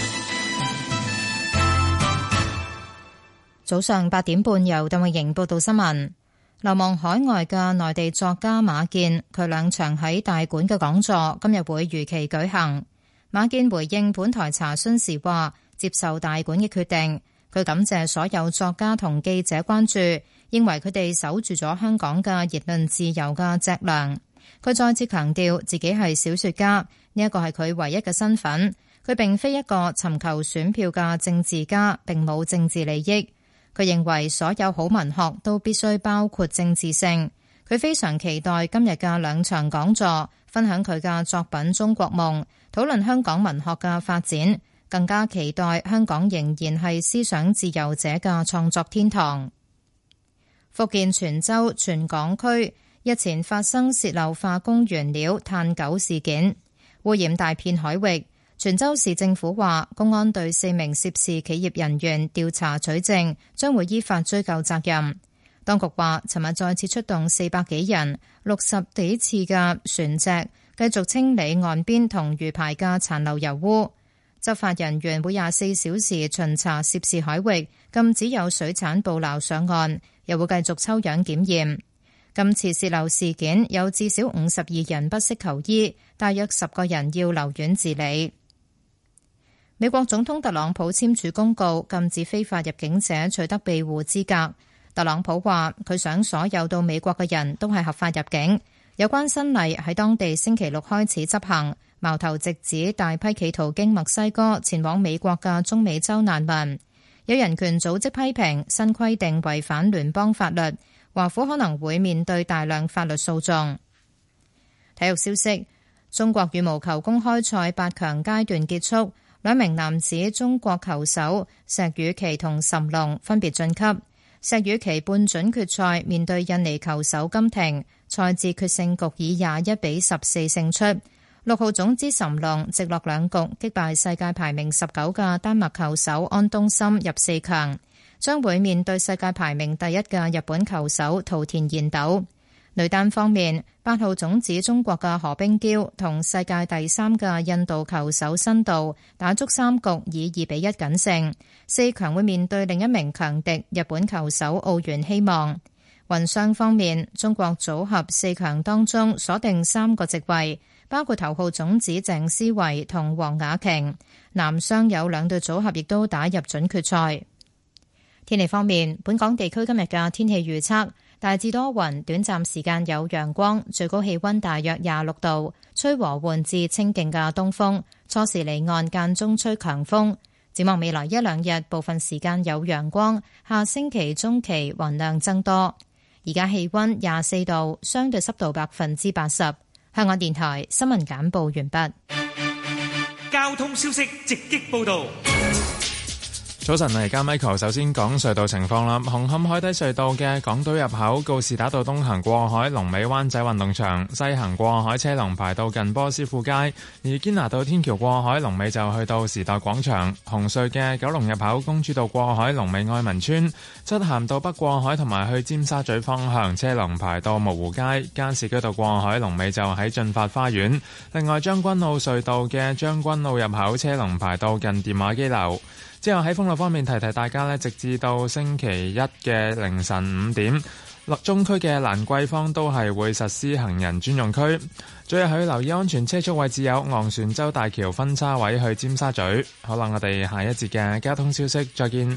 早上八點半由鄧慧瑩報道新聞。流亡海外嘅內地作家馬建，佢兩場喺大館嘅講座今日會如期舉行。馬建回應本台查詢時話，接受大館嘅決定，佢感謝所有作家同記者關注，認為佢哋守住咗香港嘅言論自由嘅脊梁。佢再次強調自己係小說家，呢一個係佢唯一嘅身份。佢並非一個尋求選票嘅政治家，並冇政治利益。佢認為所有好文學都必須包括政治性。佢非常期待今日嘅兩場講座，分享佢嘅作品《中國夢》，討論香港文學嘅發展，更加期待香港仍然係思想自由者嘅創作天堂。福建泉州全港區日前發生洩漏化工原料碳九事件，污染大片海域。泉州市政府話，公安對四名涉事企業人員調查取證，將會依法追究責任。當局話，尋日再次出動四百幾人、六十幾次嘅船隻，繼續清理岸邊同魚排嘅殘留油污。執法人員會廿四小時巡查涉事海域，禁止有水產捕撈上岸，又會繼續抽樣檢驗。今次洩漏事件有至少五十二人不適求醫，大約十個人要留院治理。美國總統特朗普簽署公告，禁止非法入境者取得庇護資格。特朗普話，佢想所有到美國嘅人都係合法入境。有關新例喺當地星期六開始執行，矛頭直指大批企圖經墨西哥前往美國嘅中美洲難民。有人權組織批評新規定違反聯邦法律，華府可能會面對大量法律訴訟。體育消息，中國羽毛球公開賽八強階段結束，兩名男子中國球手石宇奇同諶龍分別晉級。石宇奇半準決賽面對印尼球手金廷，賽至決勝局以廿一比十四勝出。六號種子諶龍直落兩局擊敗世界排名十九嘅丹麥球手安東森入四強，將會面對世界排名第一嘅日本球手桃田賢斗。女單方面，八號種子中國嘅何冰嬌同世界第三嘅印度球手辛度打足三局以二比一僅勝，四強會面對另一名強敵日本球手奧原希望。混雙方面，中國組合四強當中鎖定三個席位，包括頭號種子鄭思維同黃雅瓊。男雙有兩隊組合亦都打入準決賽。天氣方面，本港地區今日嘅天氣預測大致多雲，短暫時間有陽光，最高氣溫大約廿六度，吹和緩至清勁嘅東風，初時離岸間中吹強風。展望未來一兩日，部分時間有陽光，下星期中期雲量增多。而家氣溫廿四度，相對濕度百分之八十。香港電台新聞簡報完畢。 交通消息直擊報道。 早晨，而家 Michael 首先講隧道情況啦。紅磡海底隧道嘅港島入口告士打道東行過海，龍尾灣仔運動場；西行過海車龍排到近波斯富街。而堅拿道天橋過海龍尾就去到時代廣場。紅隧嘅九龍入口公主道過海龍尾愛民村；漆咸道北過海同埋去尖沙咀方向車龍排到蕪湖街。加士居道過海龍尾就喺駿發花園。另外將軍澳隧道嘅將軍澳入口車龍排到近電話機樓。之後喺封路方面提提大家呢，直至到星期一嘅凌晨五點，中區嘅蘭桂坊都係會實施行人專用區。最後去留意安全車速位置有昂船洲大橋分叉位去尖沙咀。好啦，我哋下一節嘅交通消息再見。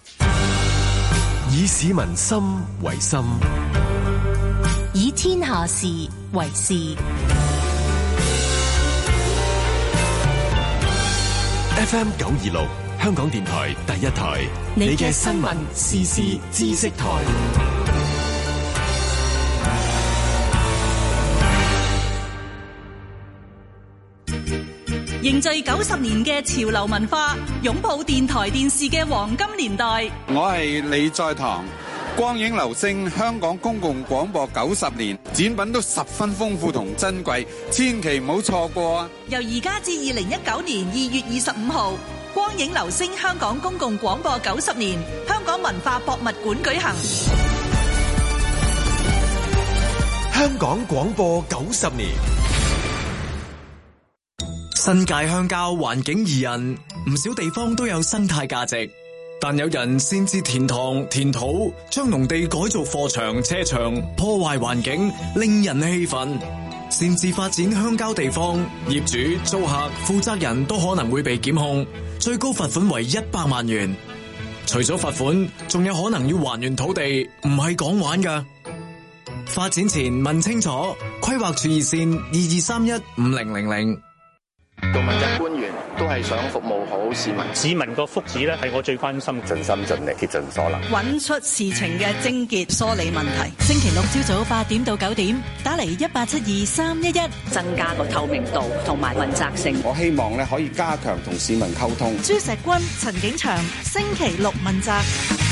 以市民心為心， 以天下事為事。 F M 九二六香港電台第一台，你嘅新聞時事知識台。 凝聚九十年嘅潮流文化，擁抱電台電視嘅黃金年代。 我係李在堂，光影流星香港公共廣播九十年，展品都十分豐富同珍貴，千祈唔好錯過啊！ 由而家至二零一九年二月二十五號，光影流星香港公共廣播九十年，香港文化博物館舉行。 香港廣播九十年。 新界鄉郊環境宜人，唔少地方都有生態價值，但有人擅自填塘填土，將農地改造貨場車場，破壞環境，令人氣憤。擅自發展鄉郊地方，業主、租客、負責人都可能會被檢控，最高罰款為一百萬元。除咗罰款，仲有可能要還原土地，唔係講玩㗎。發展前問清楚，規劃處熱線二二三一五零零零。 做問責官員都係想服務好市民， 市民個福祉咧係我最關心， 盡心盡力竭盡所能， 揾出事情嘅症結，梳理問題。 星期六朝早八點到九點，打嚟一八七二三一一， 增加個透明度同埋問責性。 我希望咧可以加強同市民溝通。 朱錫君、陳景祥，星期六問責。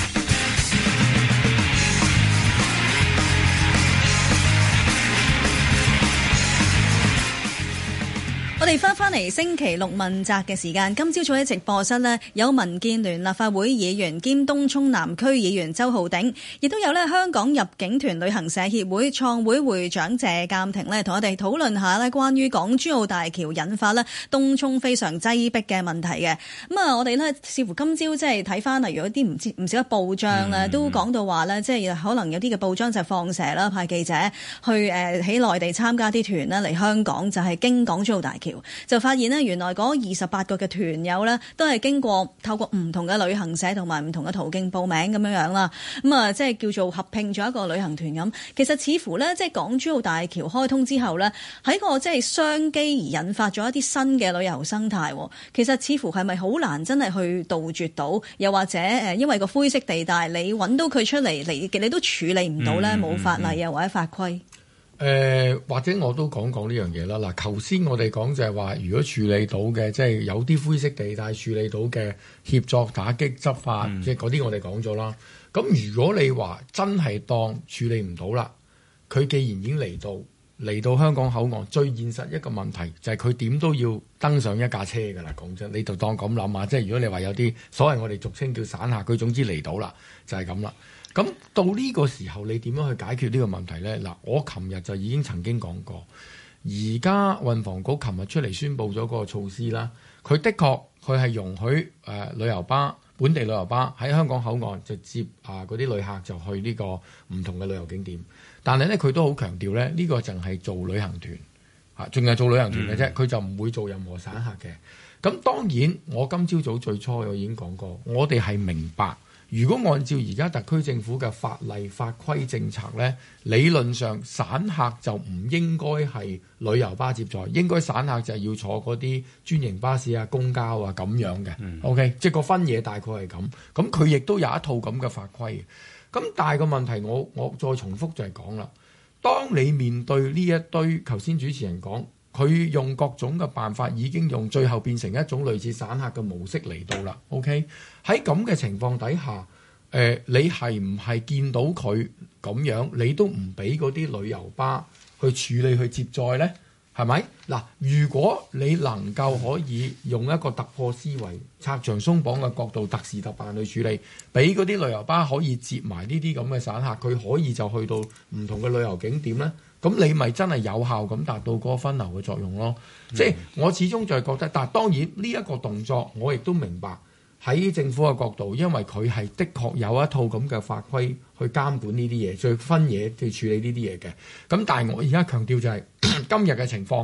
我哋翻返嚟星期六問責嘅時間，今朝早喺直播室呢，有民建聯立法會議員兼東涌南區議員周浩鼎，亦都有呢香港入境團旅行社協會創會會長謝鑑庭呢，同我哋討論下呢關於港珠澳大橋引發呢東涌非常擠迫嘅問題嘅。咁啊，我哋呢似乎今朝即係睇翻例如一啲唔知唔少嘅報章呢，都講到話呢，即係可能有啲嘅報章就放蛇啦，派記者去誒喺內地參加啲團呢嚟香港，就係經港珠澳大橋。就發現呢，原來嗰二十八個嘅團友呢，都係經過透過唔同嘅旅行社同埋唔同嘅途徑報名咁樣樣啦。咁啊，即係叫做合併咗一個旅行團咁。其實似乎呢，即係港珠澳大橋開通之後呢，喺個即係商機而引發咗一啲新嘅旅遊生態。其實似乎係咪好難真係去杜絕到？又或者誒，因為個灰色地帶，你揾到佢出嚟，你你都處理唔到呢？冇法例啊或者法規。 誒、呃、或者我都講講呢樣嘢啦。嗱，頭先我哋講就係話，如果處理到嘅，即係有啲灰色地帶處理到嘅協作打擊執法，嗯、即係嗰啲我哋講咗啦。咁如果你話真係當處理唔到啦，佢既然已經嚟到嚟到香港口岸，最現實一個問題就係佢點都要登上一架車㗎啦。講真，你就當咁諗下，即係如果你話有啲所謂我哋俗稱叫散客，佢總之嚟到啦，就係咁啦。咁到呢個時候，你點樣去解決呢個問題呢？嗱，我琴日就已經曾經講過，而家運房局琴日出嚟宣布咗個措施啦。佢的確佢係容許誒、呃、旅遊巴、本地旅遊巴喺香港口岸就接啊嗰啲旅客就去呢個唔同嘅旅遊景點。但係呢，佢都好強調呢，呢、呢個淨係做旅行團啊，淨係做旅行團嘅啫，佢、嗯、就唔會做任何散客嘅。咁當然，我今朝早最初我已經講過，我哋係明白。如果按照而家特區政府嘅法例法規政策呢，理論上散客就唔應該係旅遊巴接載，應該散客就係要坐嗰啲專營巴士啊、公交啊咁樣嘅。嗯、OK， 即係個分野大概係咁。咁佢亦都有一套咁嘅法規。咁但係個問題我，我我再重複就係講啦，當你面對呢一堆頭先主持人講，佢用各種嘅辦法已經用最後變成一種類似散客嘅模式嚟到啦。OK， 喺咁嘅情況底下，誒、呃、你係唔係見到佢咁樣，你都唔俾嗰啲旅遊巴去處理去接載呢？係咪？嗱，如果你能夠可以用一個突破思維、拆牆鬆綁嘅角度，特事特辦去處理，俾嗰啲旅遊巴可以接埋呢啲咁嘅散客，佢可以就去到唔同嘅旅遊景點呢。咁你咪真係有效咁達到嗰個分流嘅作用咯。嗯、即係我始終就係覺得，但係當然呢一個動作，我亦都明白喺政府嘅角度，因為佢係的確有一套咁嘅法規去監管呢啲嘢，再分嘢去處理呢啲嘢嘅。咁但係我而家強調就係、是、今日嘅情況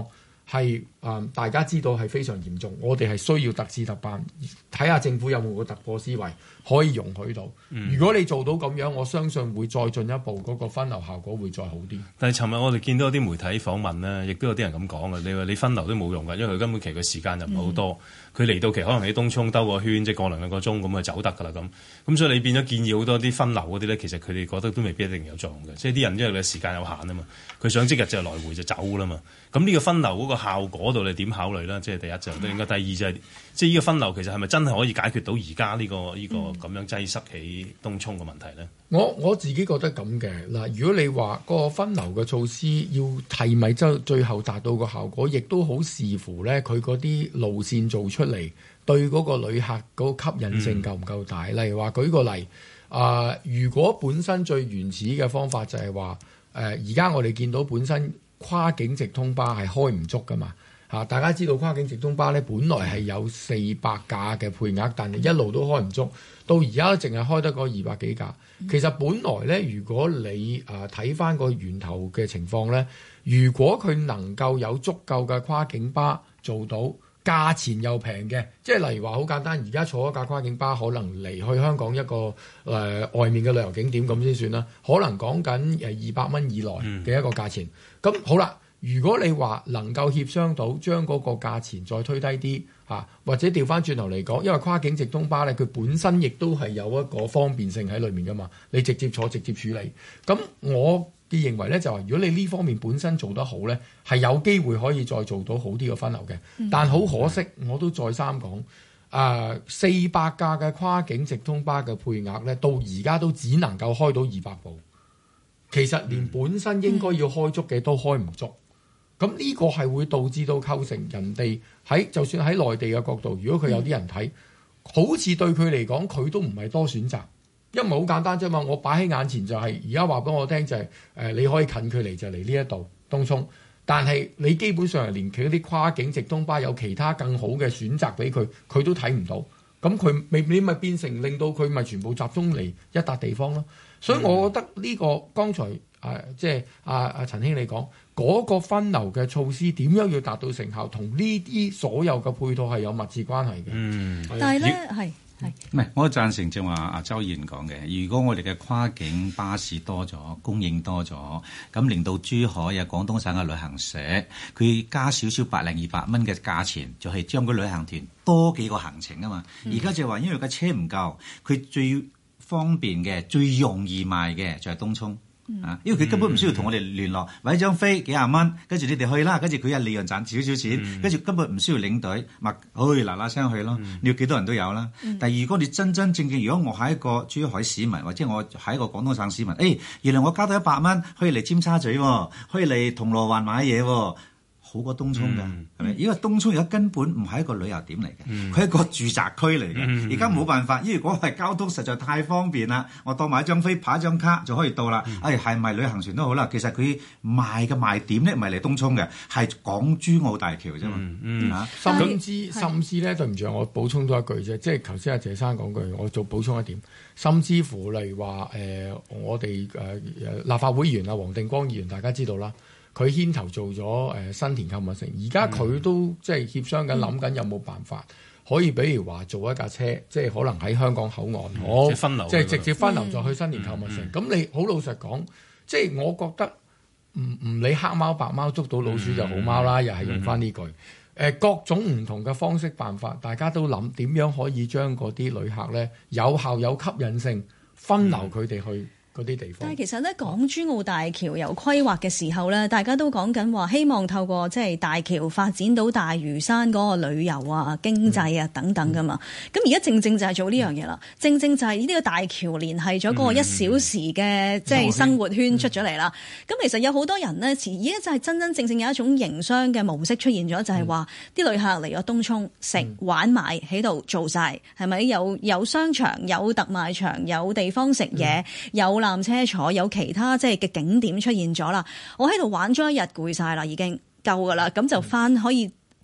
係啊、呃，大家知道係非常嚴重，我哋係需要特事特辦，睇下政府有冇個突破思維可以容許到。嗯、如果你做到咁樣，我相信會再進一步，嗰、那個分流效果會再好啲。 但係尋日我哋見到啲媒體訪問咧，亦都有啲人咁講嘅。你話你分流都冇用㗎，因為佢根本其實個時間就唔係好多。佢嚟、嗯、到期可能喺東涌兜個圈，即係過兩兩個鐘咁就走得㗎啦咁。咁所以你變咗建議好多啲分流嗰啲咧，其實佢哋覺得都未必一定有作用嘅。即係啲人因為佢時間有限啊嘛，佢想即日就來回就走啦嘛。咁呢個分流嗰個效果度你點考慮咧？即係第一就都應該，第二就係、是、即係呢個分流其實係咪真係可以解決到而家呢個呢、呢個咁樣擠塞喺東涌嘅問題咧？ 我我自己覺得咁嘅嗱，如果你話個分流嘅措施要係咪真最後達到個效果，亦都好視乎咧佢嗰啲路線做出嚟對嗰個旅客嗰個吸引性夠唔夠大。嗯、例如話舉個例啊、呃，如果本身最原始嘅方法就係話誒，而家我哋見到本身跨境直通巴係開唔足噶嘛嚇，大家知道跨境直通巴咧本來係有四百架嘅配額，但係一路都開唔足，到而家淨係開得嗰二百幾架。其實本來咧，如果你誒睇翻個源頭嘅情況咧，如果佢能夠有足夠嘅跨境巴做到，價錢又平嘅，即係例如話好簡單，而家坐一架跨境巴可能離去香港一個誒、呃、外面嘅旅遊景點咁先算啦，可能講緊誒二百蚊以內嘅一個價錢。咁、嗯、好啦，如果你話能夠協商到將嗰個價錢再推低啲嚇、啊，或者調翻轉頭嚟講，因為跨境直通巴咧，佢本身亦都係有一個方便性喺裏面噶嘛，你直接坐直接處理。咁我嘅認為咧就係、是，如果你呢方面本身做得好咧，係有機會可以再做到好啲嘅分流嘅。嗯、但好可惜，我都再三講，誒四百架嘅跨境直通巴嘅配額咧，到而家都只能夠開到二百部，其實連本身應該要開足嘅都開唔足。咁呢、嗯、個係會導致到構成人哋喺就算喺內地嘅角度，如果佢有啲人睇，嗯、好似對佢嚟講，佢都唔係多選擇。因為好簡單啫嘛，我擺喺眼前就係而家話俾我聽就係、是、誒、呃、你可以近距離就嚟呢一度東涌，但係你基本上係連佢啲跨境直通巴有其他更好嘅選擇俾佢，佢都睇唔到。咁佢未你咪變成令到佢咪全部集中嚟一笪地方咯。所以我覺得呢、這個剛才誒、呃、即係阿阿陳兄你講嗰、那個分流嘅措施點樣要達到成效，同呢啲所有嘅配套係有密切關係嘅。 嗯， 但係咧係。 唔係，我贊成正話阿周議員講嘅。如果我哋嘅跨境巴士多咗，供應多咗，咁令到珠海啊、廣東省嘅旅行社，佢加少少百零二百蚊嘅價錢，就係、是、將個旅行團多幾個行程啊嘛。而家、嗯、就話因為個車唔夠，佢最方便嘅、最容易賣嘅就係東涌。啊！因為佢根本唔需要同我哋聯絡，買張飛幾廿蚊，跟住你哋去啦，跟住佢有利潤賺少少錢，跟住、嗯、根本唔需要領隊，咪去嗱嗱聲去咯。嗯、你要幾多人都有啦。嗯、但係如果你真真正正，如果我係一個珠海市民，或者我係一個廣東省市民，誒、哎，原來我交到一百蚊可以嚟尖沙咀，可以嚟銅鑼灣買嘢。好過東涌㗎，係咪、嗯？因為東涌而家根本唔係一個旅遊點嚟嘅，佢係、嗯、一個住宅區嚟嘅。而家冇辦法，因為嗰個係交通實在太方便啦。我當買一張飛，拍一張卡就可以到啦。嗯、哎，係咪旅行團都好啦？其實佢賣嘅賣點咧，唔係嚟東涌嘅，係港珠澳大橋啫嘛。嗯嗯啊、 甚至甚至咧，對唔住，我補充多一句啫。即係頭先阿謝生講句，我做補充一點。甚至乎例如話誒、呃，我哋誒、呃、立法會議員啊，黃定光議員，大家知道啦。佢牽頭做咗誒、呃、新田購物城，而家佢都即係協商緊，諗緊有冇辦法可以，比如話做一架車，即係可能喺香港口岸，我、嗯、即係直接分流再去新田購物城。咁、嗯嗯、你好老實講，即係我覺得唔唔理黑貓白貓捉到老鼠就好貓啦，嗯、又係用翻呢句誒、呃、各種唔同嘅方式辦法，大家都諗點樣可以將嗰啲旅客咧有效有吸引性分流佢哋去。嗯啲地方， 但係其實咧，港珠澳大橋有規劃嘅時候咧，大家都講緊話，希望透過即係大橋發展到大嶼山嗰個旅遊啊、經濟啊等等噶嘛。咁而家正正就係做呢樣嘢啦，嗯、正正就係呢個大橋聯繫咗嗰個一小時嘅即係生活圈出咗嚟啦。咁、嗯、其實有好多人呢，而家就係真真正正有一種營商嘅模式出現咗，就係話啲旅客嚟咗東涌食、嗯、玩買喺度做晒，係咪有有商場、有特賣場、有地方食嘢、嗯、有纜車坐，有其他即係嘅景點出現咗啦。我喺度玩咗一日攰晒啦，已經夠噶啦。咁就翻可以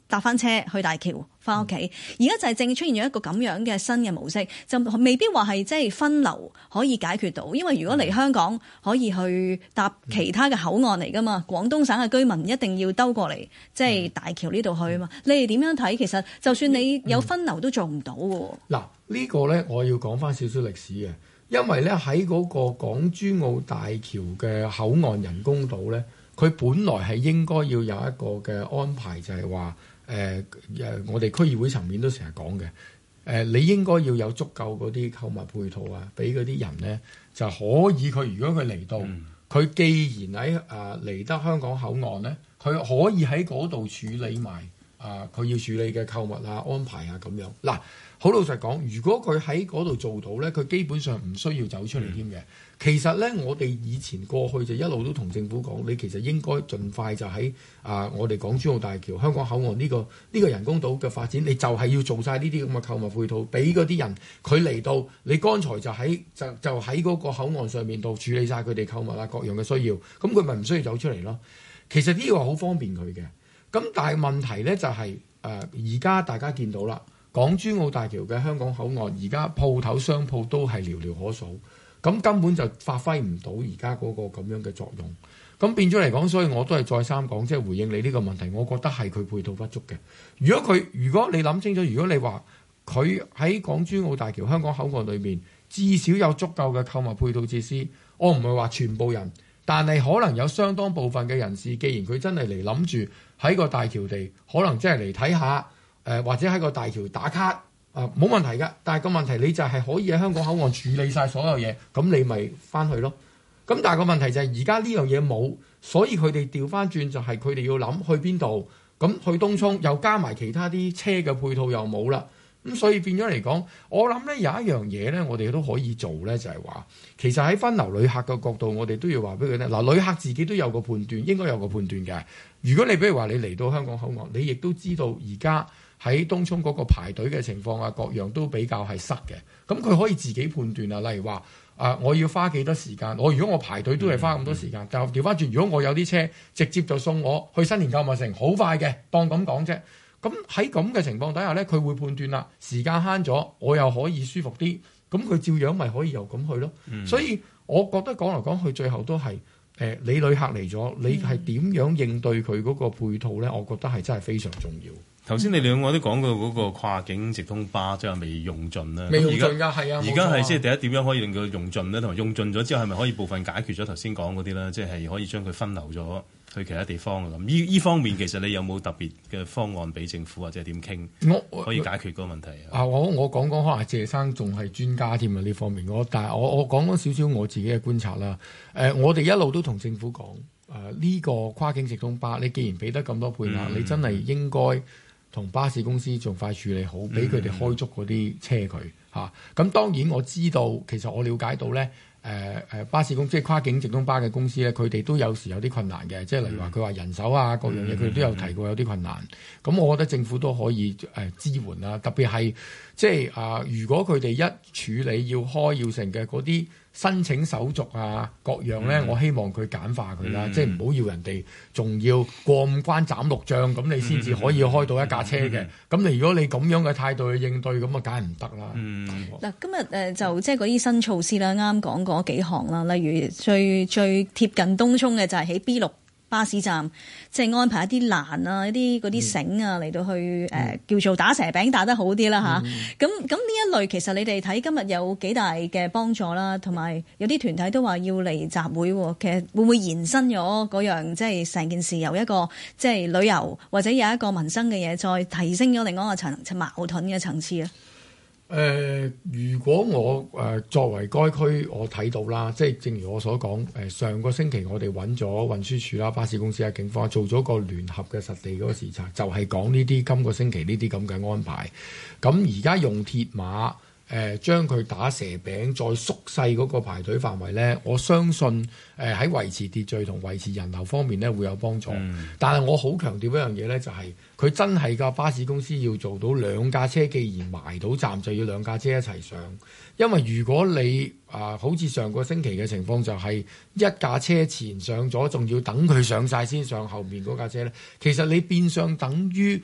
搭翻車去大橋翻屋企。而家就係正出現咗一個咁樣嘅新嘅模式，就未必話係即係分流可以解決到，因為如果嚟香港可以去搭其他嘅口岸嚟噶嘛，廣東省嘅居民一定要兜過嚟即係大橋呢度去啊嘛。你哋點樣睇？其實就算你有分流都做唔到喎。 嗱、嗯，呢個咧我要講翻少少歷史嘅，因為咧喺嗰個港珠澳大橋嘅口岸人工島咧，佢本來係應該要有一個嘅安排，就係話誒誒，我哋區議會層面都成日講嘅，誒、呃、你應該要有足夠嗰啲購物配套啊，俾嗰啲人咧就可以佢如果佢嚟到，佢、嗯、既然喺誒嚟得香港口岸咧，佢可以喺嗰度處理埋啊佢要處理嘅購物啊安排啊咁樣。嗱，好老實講，如果佢喺嗰度做到咧，佢基本上唔需要走出嚟添嘅。其實咧，我哋以前過去就一路都同政府講，你其實應該盡快就喺啊、呃，我哋港珠澳大橋香港口岸呢、呢個呢、呢個人工島嘅發展，你就係要做晒呢啲咁嘅購物配套，俾嗰啲人佢嚟到，你剛才就喺就就喺嗰個口岸上面度處理晒佢哋購物啊各樣嘅需要，咁佢咪唔需要走出嚟咯？其實呢個好方便佢嘅。咁但係問題咧就係誒而家大家見到啦，港珠澳大橋嘅香港口岸而家鋪頭商鋪都係寥寥可數。咁根本就發揮唔到而家嗰個咁樣嘅作用，咁變咗嚟講，所以我都係再三講，即係回應你呢個問題，我覺得係佢配套不足嘅。如果佢，如果你諗清楚，如果你話佢喺港珠澳大橋香港口岸裏面至少有足夠嘅購物配套設施，我唔係話全部人，但係可能有相當部分嘅人士，既然佢真係嚟諗住喺個大橋地，可能真係嚟睇下，誒、呃、或者喺個大橋打卡。啊，冇問題㗎，但係個問題你就係可以喺香港口岸處理晒所有嘢，咁你咪翻去咯。咁但係個問題就係而家呢樣嘢冇，所以佢哋調翻轉就係佢哋要諗去邊度，咁去東涌又加埋其他啲車嘅配套又冇啦，咁所以變咗嚟講，我諗咧有一樣嘢咧，我哋都可以做咧，就係話其實喺分流旅客嘅角度，我哋都要話俾佢聽。嗱，旅客自己都有個判斷，應該有個判斷嘅。如果你比如話你嚟到香港口岸，你亦都知道而家喺東涌嗰個排隊嘅情況啊，各樣都比較係塞嘅。咁佢可以自己判斷啊，例如話啊、呃，我要花幾多時間？我如果我排隊都係花咁多時間，但係調翻轉，如果我有啲車直接就送我去新年購物城，好快嘅，當咁講啫。咁喺咁嘅情況底下咧，佢會判斷啦，時間慳咗，我又可以舒服啲，咁佢照樣咪可以又咁去咯。嗯、所以我覺得講嚟講去，最後都係誒、呃，你旅客嚟咗，你係點樣應對佢嗰個配套咧？我覺得係真係非常重要。 頭先你兩個都講過嗰個跨境直通巴即係未用盡啦， 未用盡㗎，係啊， 而家係即係第一點樣可以令佢用盡咧，同埋用盡咗之後係咪可以部分解決咗頭先講嗰啲咧？即係可以將佢分流咗去其他地方啊咁。依依方面其實你有冇特別嘅方案俾政府或者點傾？我可以解決嗰個問題啊！ 我我講講可能謝生仲係專家添啊呢方面。我但係我我講咗少少我自己嘅觀察啦。誒、呃，我哋一路都同政府講誒呢個跨境直通巴，你既然俾得咁多配額，嗯、你真係應該同巴士公司盡快處理好，俾佢哋開足嗰啲車佢嚇。咁、啊、當然我知道，其實我了解到咧，誒、呃、誒巴士公司即係跨境直通巴嘅公司咧，佢哋都有時有啲困難嘅，即係例如話佢話人手啊各樣嘢，佢哋都有提過有啲困難。咁我覺得政府都可以誒、呃、支援啦，特別係即係啊、呃，如果佢哋一處理要開要成嘅嗰啲申請手續啊各樣咧，嗯、我希望佢簡化佢啦，嗯、即係唔好要人哋仲要過五關斬六將咁，你先至可以開到一架車嘅。咁、嗯、你如果你咁樣嘅態度去應對，咁啊梗係唔得啦。嗱、嗯， 今日誒就即係嗰啲新措施啦，啱講嗰幾項啦，例如最最貼近東涌嘅就係喺 B 六巴士站，即係安排一啲欄啊、一啲嗰啲繩啊嚟到去誒、嗯呃、叫做打蛇餅打得好啲啦吓，咁咁呢一類其實你哋睇今日有幾大嘅幫助啦，同埋有啲團體都話要嚟集會，其實會唔會延伸咗嗰樣即係成件事由一個即係旅遊或者有一個民生嘅嘢，再提升咗另外一個層矛盾嘅層次啊？ 誒、呃，如果我誒、呃、作為該區，我睇到啦，即係正如我所講，誒、呃、上個星期我哋揾咗運輸署啦、巴士公司啊、警方做咗個聯合嘅實地嗰個視察，就係講呢啲今個星期呢啲咁嘅安排。咁而家用鐵馬。誒、呃、將佢打蛇餅，再縮細嗰個排隊範圍咧，我相信誒喺、呃、維持秩序同維持人流方面咧會有幫助。嗯、但係我好強調一樣嘢咧，就係、是、佢真係架巴士公司要做到兩架車，既然埋到站就要兩架車一齊上。因為如果你啊、呃、好似上個星期嘅情況，就係一架車前上咗，仲要等佢上晒先上後面嗰架車咧，其實你變相等於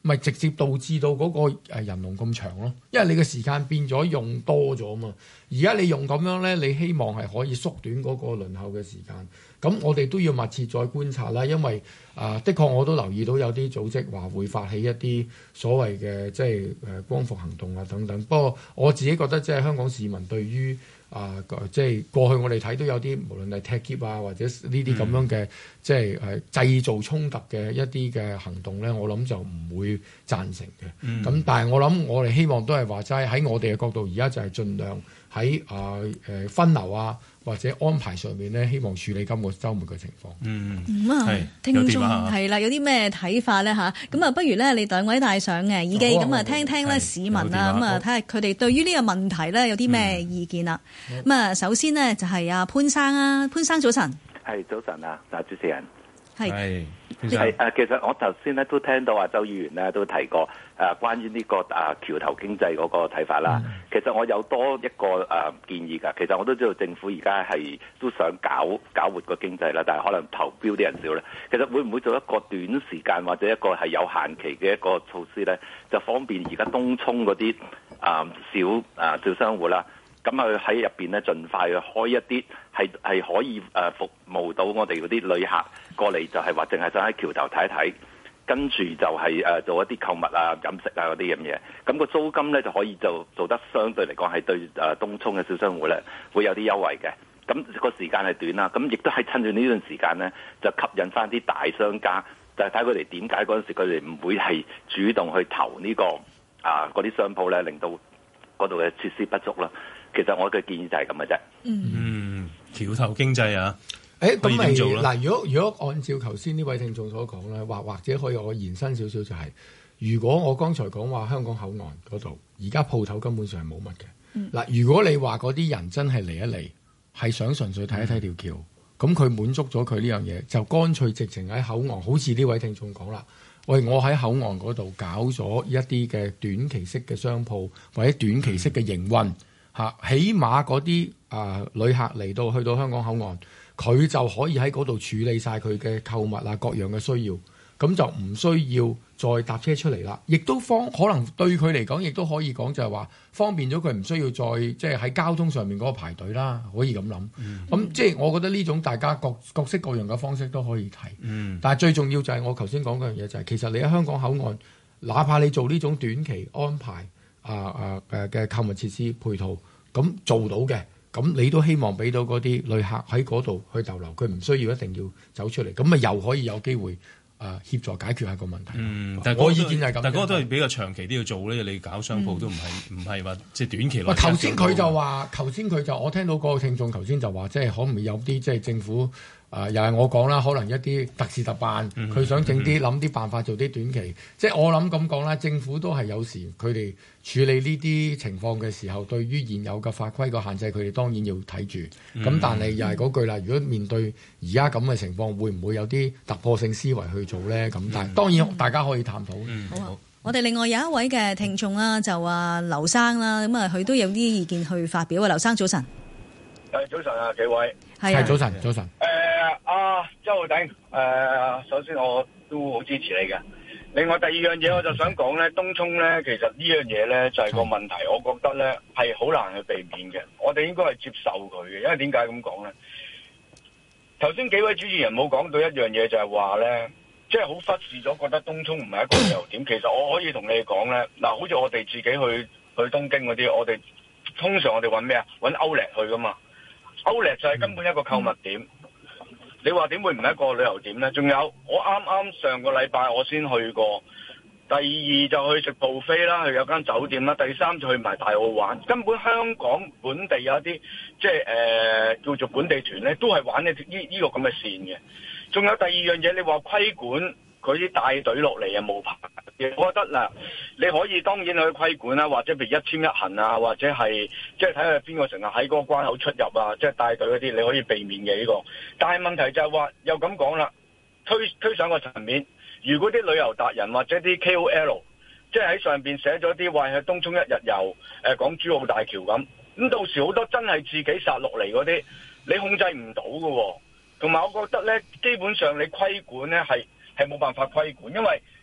咪直接導致到嗰個人龍咁長咯，因為你嘅時間變咗用多咗嘛。而家你用咁樣咧，你希望係可以縮短嗰個輪候嘅時間。咁我哋都要密切再觀察啦，因為啊、呃，的確我都留意到有啲組織話會發起一啲所謂嘅即係誒光復行動啊等等。不過我自己覺得即係香港市民對於啊，即係過去我哋睇到有啲無論係踢劫啊，或者呢啲咁樣嘅、嗯、即係誒製造衝突嘅一啲嘅行動咧，我諗就唔會贊成嘅。咁、嗯、但係我諗我哋希望都係話齋喺我哋嘅角度，而家就係盡量喺啊誒分流啊或者安排上面咧，希望處理今個週末嘅情況。 嗯， 咁啊，聽眾係啦，有啲咩睇法咧嚇？咁啊，不如咧你兩位戴上嘅耳機，咁啊聽聽咧市民啊，咁啊睇下佢哋對於呢個問題咧有啲咩意見啦。咁啊，首先呢，就係阿潘生啊，潘生早晨。 係早晨啊，嗱主持人。 係。 係誒，其實我頭先咧都聽到阿周議員咧都提過誒關於呢個誒橋頭經濟嗰個睇法啦。嗯、其實我有多一個誒建議㗎。其實我都知道政府而家係都想搞搞活個經濟啦，但係可能投標啲人少咧。其實會唔會做一個短時間或者一個係有限期嘅一個措施咧，就方便而家東涌嗰啲誒小誒小商戶啦？咁佢喺入邊咧，盡快去開一啲係係可以誒服務到我哋嗰啲旅客過嚟，就係話淨係想喺橋頭睇一睇，跟住就係誒做一啲購物啊、飲食啊嗰啲咁嘢。咁個租金咧就可以就做得相對嚟講係對誒東涌嘅小商戶咧會有啲優惠嘅。咁個時間係短啦，咁亦都係趁住呢段時間咧，就吸引翻啲大商家，就係睇佢哋點解嗰陣時佢哋唔會係主動去投呢個啊嗰啲商鋪咧，令到嗰度嘅設施不足啦。其實我嘅建議就係咁嘅啫。 嗯，橋頭經濟啊， 誒咁咪嗱，如果如果按照頭先呢位聽眾所講咧，或或者可以我延伸少少就係、是，如果我剛才講話香港口岸嗰度，而家鋪頭根本上係冇乜嘅。嗱、嗯，如果你話嗰啲人真係嚟一嚟，係想純粹睇一睇條橋，咁佢、嗯、滿足咗佢呢樣嘢，就乾脆直情喺口岸，好似呢位聽眾講啦。喂，我喺口岸嗰度搞咗一啲嘅短期式嘅商鋪，或者短期式嘅營運。嗯嚇，起碼嗰啲啊旅客嚟到去到香港口岸，佢就可以喺嗰度處理晒佢嘅購物啊各樣嘅需要，咁就唔需要再搭車出嚟啦。亦都方可能對佢嚟講，亦都可以講就係話方便咗佢，唔需要再即係喺交通上面嗰個排隊啦。可以咁諗。咁、嗯、即係我覺得呢種大家各各式各樣嘅方式都可以提。嗯、但係最重要就係我頭先講嗰樣嘢就係、是，其實你喺香港口岸，哪怕你做呢種短期安排。啊啊誒嘅購物設施配套咁做到嘅，咁你都希望俾到嗰啲旅客喺嗰度去逗留，佢唔需要一定要走出嚟，咁咪又可以有機會啊協助解決下個問題。 嗯，但係我意見係咁，但係嗰個都係比較長期都要做咧。你搞商鋪都唔係唔係話即係短期內。喂，頭先佢就話，頭先佢就我聽到個聽眾頭先就話，即係可唔可以有啲即係政府。啊、呃！又係我講啦，可能一啲特事特辦，佢、嗯、想整啲諗啲辦法做啲短期，嗯、即係我諗咁講啦。政府都係有時佢哋處理呢啲情況嘅時候，對於現有嘅法規個限制，佢哋當然要睇住。咁、嗯、但係又係嗰句啦，如果面對而家咁嘅情況，會唔會有啲突破性思維去做咧？咁但係當然大家可以探討。 嗯、好啊！我哋另外有一位嘅聽眾啦，就話劉生啦，咁啊佢都有啲意見去發表啊。劉生早晨。 誒早晨啊，幾位係啊，早晨早晨。 誒阿周浩鼎，誒、呃、首先我都好支持你嘅。另外第二樣嘢我就想講咧，東涌咧其實呢樣嘢咧就係、是、個問題，我覺得咧係好難去避免嘅。我哋應該係接受佢嘅，因為點解咁講咧？頭先幾位主持人冇講到一樣嘢，就係話咧，即係好忽視咗，覺得東涌唔係一個旅遊點。其實我可以同你哋講咧，嗱，好似我哋自己去去東京嗰啲，我哋通常我哋揾咩啊？揾歐力去噶嘛。歐力就係根本一個購物點，嗯、你話點會唔係一個旅遊點呢？仲有我啱啱上個禮拜我先去過，第二就去食 buffet 啦，去有間酒店啦，第三就去埋大澳玩。根本香港本地有一啲即係誒、呃、叫做本地團呢，都係玩呢呢呢個咁嘅線嘅。仲有第二樣嘢，你話規管。佢啲帶隊落嚟啊冇牌，我覺得嗱，你可以當然去規管啦，或者譬如一簽一行啊，或者係即係睇下邊個成日喺嗰個關口出入啊，即係帶隊嗰啲，你可以避免嘅呢個。但係問題就係話又咁講啦，推推上個層面，如果啲旅遊達人或者啲 K O L 即係喺上邊寫咗啲話去東涌一日遊，誒講珠澳大橋咁，咁到時好多真係自己殺落嚟嗰啲，你控制唔到㗎喎。同埋我覺得咧，基本上你規管咧係。係冇辦法規管，因為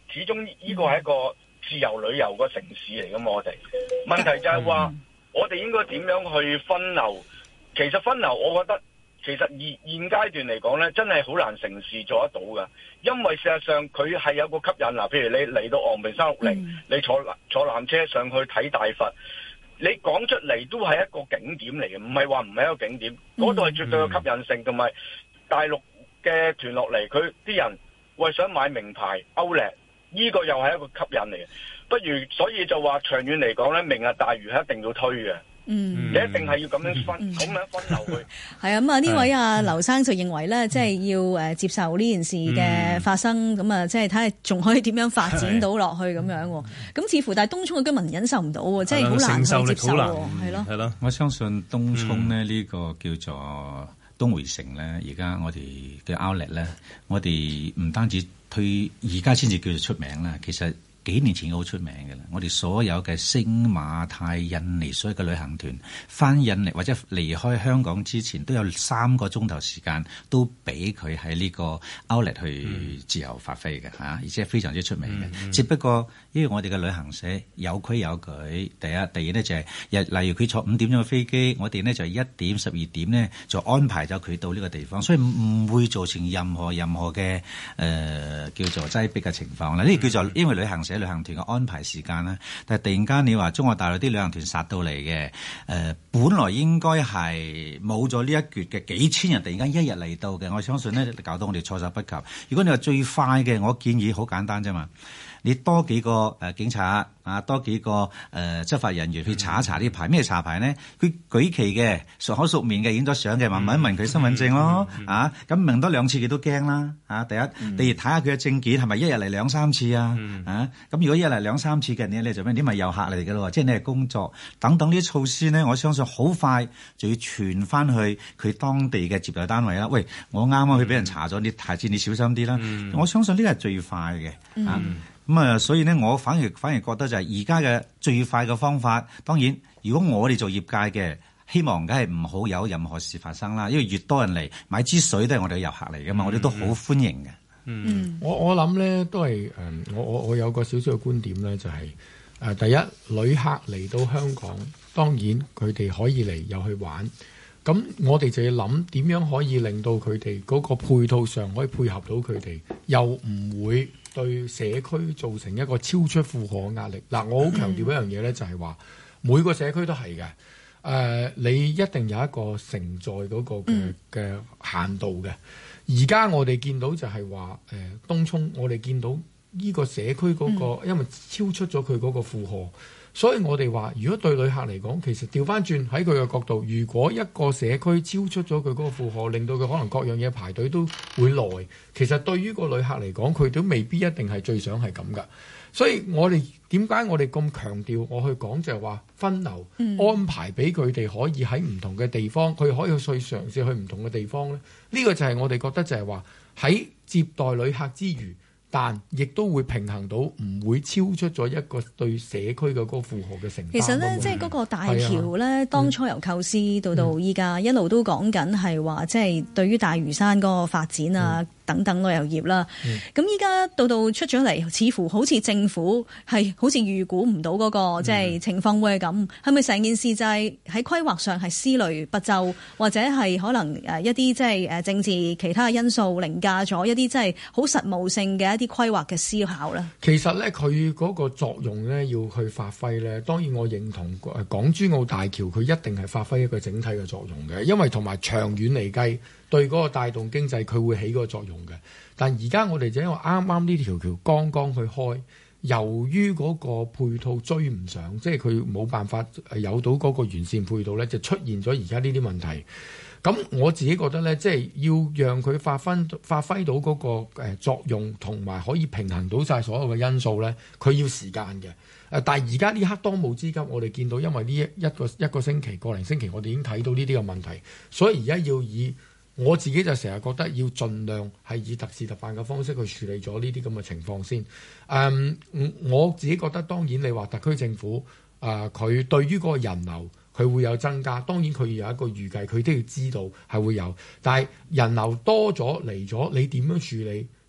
始終呢個係一個自由旅遊個城市嚟噶嘛，我哋問題就係話，我哋應該點樣去分流？其實分流，我覺得其實現現階段嚟講咧，真係好難成事做得到噶，因為事實上佢係有個吸引嗱，譬如你嚟到昂坪三六零，嗯、你坐坐纜車上去睇大佛，你講出嚟都係一個景點嚟嘅，唔係話唔係一個景點，嗰度係絕對有吸引性，同埋大陸嘅團落嚟，佢啲人為想買名牌歐力。呢個又係一個吸引嚟嘅，不如所以就話長遠嚟講咧，明日大嶼係一定要推嘅。嗯，你一定係要咁樣分，咁、嗯、樣分流去。係啊，咁啊呢位啊劉生就認為咧，即係要誒接受呢件事嘅發生，咁啊即係睇下仲可以點樣發展到落去咁樣。咁似乎但係東涌嘅居民忍受唔到喎，即係好難去接受喎，係咯。係咯，我相信東涌咧呢個叫做東薈城咧，而家我哋嘅 outlet 咧，我哋唔單止推，而家先至叫做出名啦。其實幾年前好出名嘅啦。我哋所有嘅星馬泰印尼所有嘅旅行團翻印尼或者離開香港之前，都有三個鐘頭時間都俾佢喺呢個 outlet 去自由發揮嘅嚇，而且非常之出名嘅。嗯、只不過因為我哋嘅旅行社有規有矩，第一、第二咧就係、是，例如佢坐五點鐘嘅飛機，我哋呢就係一點、十二點呢就安排咗佢到呢個地方，所以唔會造成任何任何嘅誒、呃、叫做擠迫嘅情況啦。呢、嗯、個叫做因為旅行社旅行團嘅安排時間啦，但係突然間你話中國大陸啲旅行團殺到嚟嘅，誒、呃、本來應該係冇咗呢一橛嘅幾千人，突然間一日嚟到嘅，我相信呢搞到我哋措手不及。如果你話最快嘅，我建議好簡單啫嘛。你多幾個誒、呃、警察啊，多幾個誒、呃、執法人員去查一查呢牌。咩查牌呢？佢舉旗嘅，熟口熟面嘅，影咗相嘅，問一問佢身份證咯。嗯嗯嗯、啊，咁問多兩次佢都驚啦。啊，第一，嗯、第二睇下佢嘅證件係咪一日嚟兩三次啊？嗯、啊，咁如果一日嚟兩三次嘅，你你做咩？你咪遊客嚟嘅咯，即係你係工作等等呢啲措施呢，我相信好快就要傳翻去佢當地嘅接待單位啦。喂，我啱啱去俾人查咗，你下次你小心啲啦。嗯、我相信呢個係最快嘅。啊。嗯咁啊、嗯，所以咧，我反而反而覺得就係而家嘅最快嘅方法。當然，如果我哋做業界嘅，希望梗係唔好有任何事發生啦。因為越多人嚟買支水都係我哋嘅遊客嚟噶嘛，嗯、我哋都好歡迎嘅。嗯，我我諗咧都係誒，我我我有個少少嘅觀點咧，就係、是、誒、呃、第一，旅客嚟到香港，當然佢哋可以嚟又去玩。咁我哋就要諗點樣可以令到佢哋嗰個配套上可以配合到佢哋，又唔會對社區造成一個超出負荷嘅壓力。嗱，我好強調一樣嘢咧，就係話每個社區都係嘅。誒、呃，你一定有一個承載嗰個嘅嘅限度嘅。而家我哋見到就係話誒東涌，我哋見到呢個社區嗰個，因為超出咗佢嗰個負荷。所以我哋話，如果對旅客嚟講，其實調翻轉喺佢嘅角度，如果一個社區超出咗佢嗰個負荷，令到佢可能各樣嘢排隊都會耐，其實對於個旅客嚟講，佢都未必一定係最想係咁噶。所以我哋點解我哋咁強調我去講就係話分流、嗯、安排俾佢哋可以喺唔同嘅地方，佢可以去嘗試去唔同嘅地方咧。呢、呢個就係我哋覺得就係話喺接待旅客之餘，但亦都會平衡到，唔會超出咗一個對社區嘅嗰個負荷嘅承擔。其實咧，即係嗰個大橋咧，啊、當初由構思到到依家，嗯、一路都講緊係話，即係對於大嶼山嗰個發展啊。嗯等等旅遊業啦，咁依家到到出咗嚟，似乎好似政府係好似預估唔到嗰個即係情況會係咁，係咪成件事就係喺規劃上係思慮不周，或者係可能誒一啲即係誒政治其他嘅因素凌駕咗一啲即係好實務性嘅一啲規劃嘅思考咧？其實咧，佢嗰個作用咧要去發揮咧，當然我認同誒港珠澳大橋佢一定係發揮一個整體嘅作用嘅，因為同埋長遠嚟計。對嗰個帶動經濟，佢會起嗰個作用嘅。但而家我哋就因為啱啱呢條橋剛剛去開，由於嗰個配套追唔上，即係佢冇辦法有到嗰個完善配套咧，就出現咗而家呢啲問題。咁我自己覺得咧，即係要讓佢發揮發揮到嗰個誒作用，同埋可以平衡到晒所有嘅因素咧，佢要時間嘅。誒，但係而家呢刻當務之急，我哋見到因為呢一一個一個星期、個零星期，我哋已經睇到呢啲嘅問題，所以而家要以我自己就成日覺得要盡量係以特事特辦嘅方式去處理咗呢啲咁嘅情況先。誒、嗯，我自己覺得當然你話特區政府誒佢、呃、對於嗰個人流佢會有增加，當然佢有一個預計，佢都要知道係會有。但係人流多咗嚟咗，你點樣處理？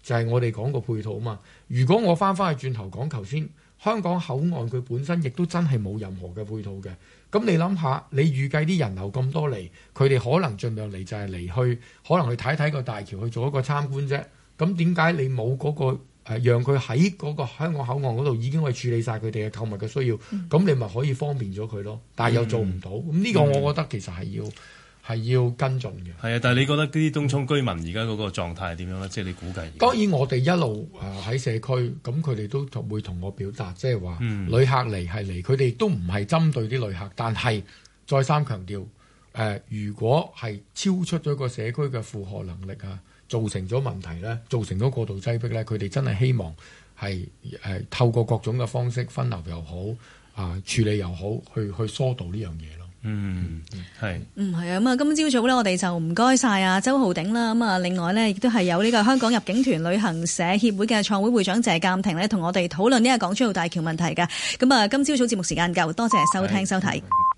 就係、是、我哋講個配套啊嘛。如果我翻翻去轉頭講頭先，香港口岸佢本身亦都真係冇任何嘅配套嘅。咁你諗下，你預計啲人流咁多嚟，佢哋可能盡量嚟就係嚟去，可能去睇睇個大橋去做一個參觀啫。咁點解你冇嗰、嗰個？誒，讓佢喺嗰個香港口岸嗰度已經可以處理晒佢哋嘅購物嘅需要，咁、嗯、你咪可以方便咗佢咯。但係又做唔到，咁、嗯、呢個我覺得其實係要係、嗯、要跟進嘅。係啊，但係你覺得啲東涌居民而家嗰個狀態係點樣咧？即係你估計。當然我哋一路誒喺社區，咁佢哋都會同我表達，即係話旅客嚟係嚟，佢哋都唔係針對啲旅客，但係再三強調，誒、呃、如果係超出咗個社區嘅負荷能力啊，造成咗問題咧，造成咗過度擠迫咧，佢哋真係希望係誒、呃、透過各種嘅方式分流又好啊、呃、處理又好，去去疏導呢樣嘢咯。嗯，係。 嗯，係啊。咁啊，今朝早咧，我哋就唔該晒啊周浩鼎啦。咁啊，另外咧，亦都係有呢個香港入境團旅行社協會嘅創會會長謝鑑庭咧，同我哋討論呢個港珠澳大橋問題嘅。咁啊，今朝早節目時間夠，多謝收聽收睇。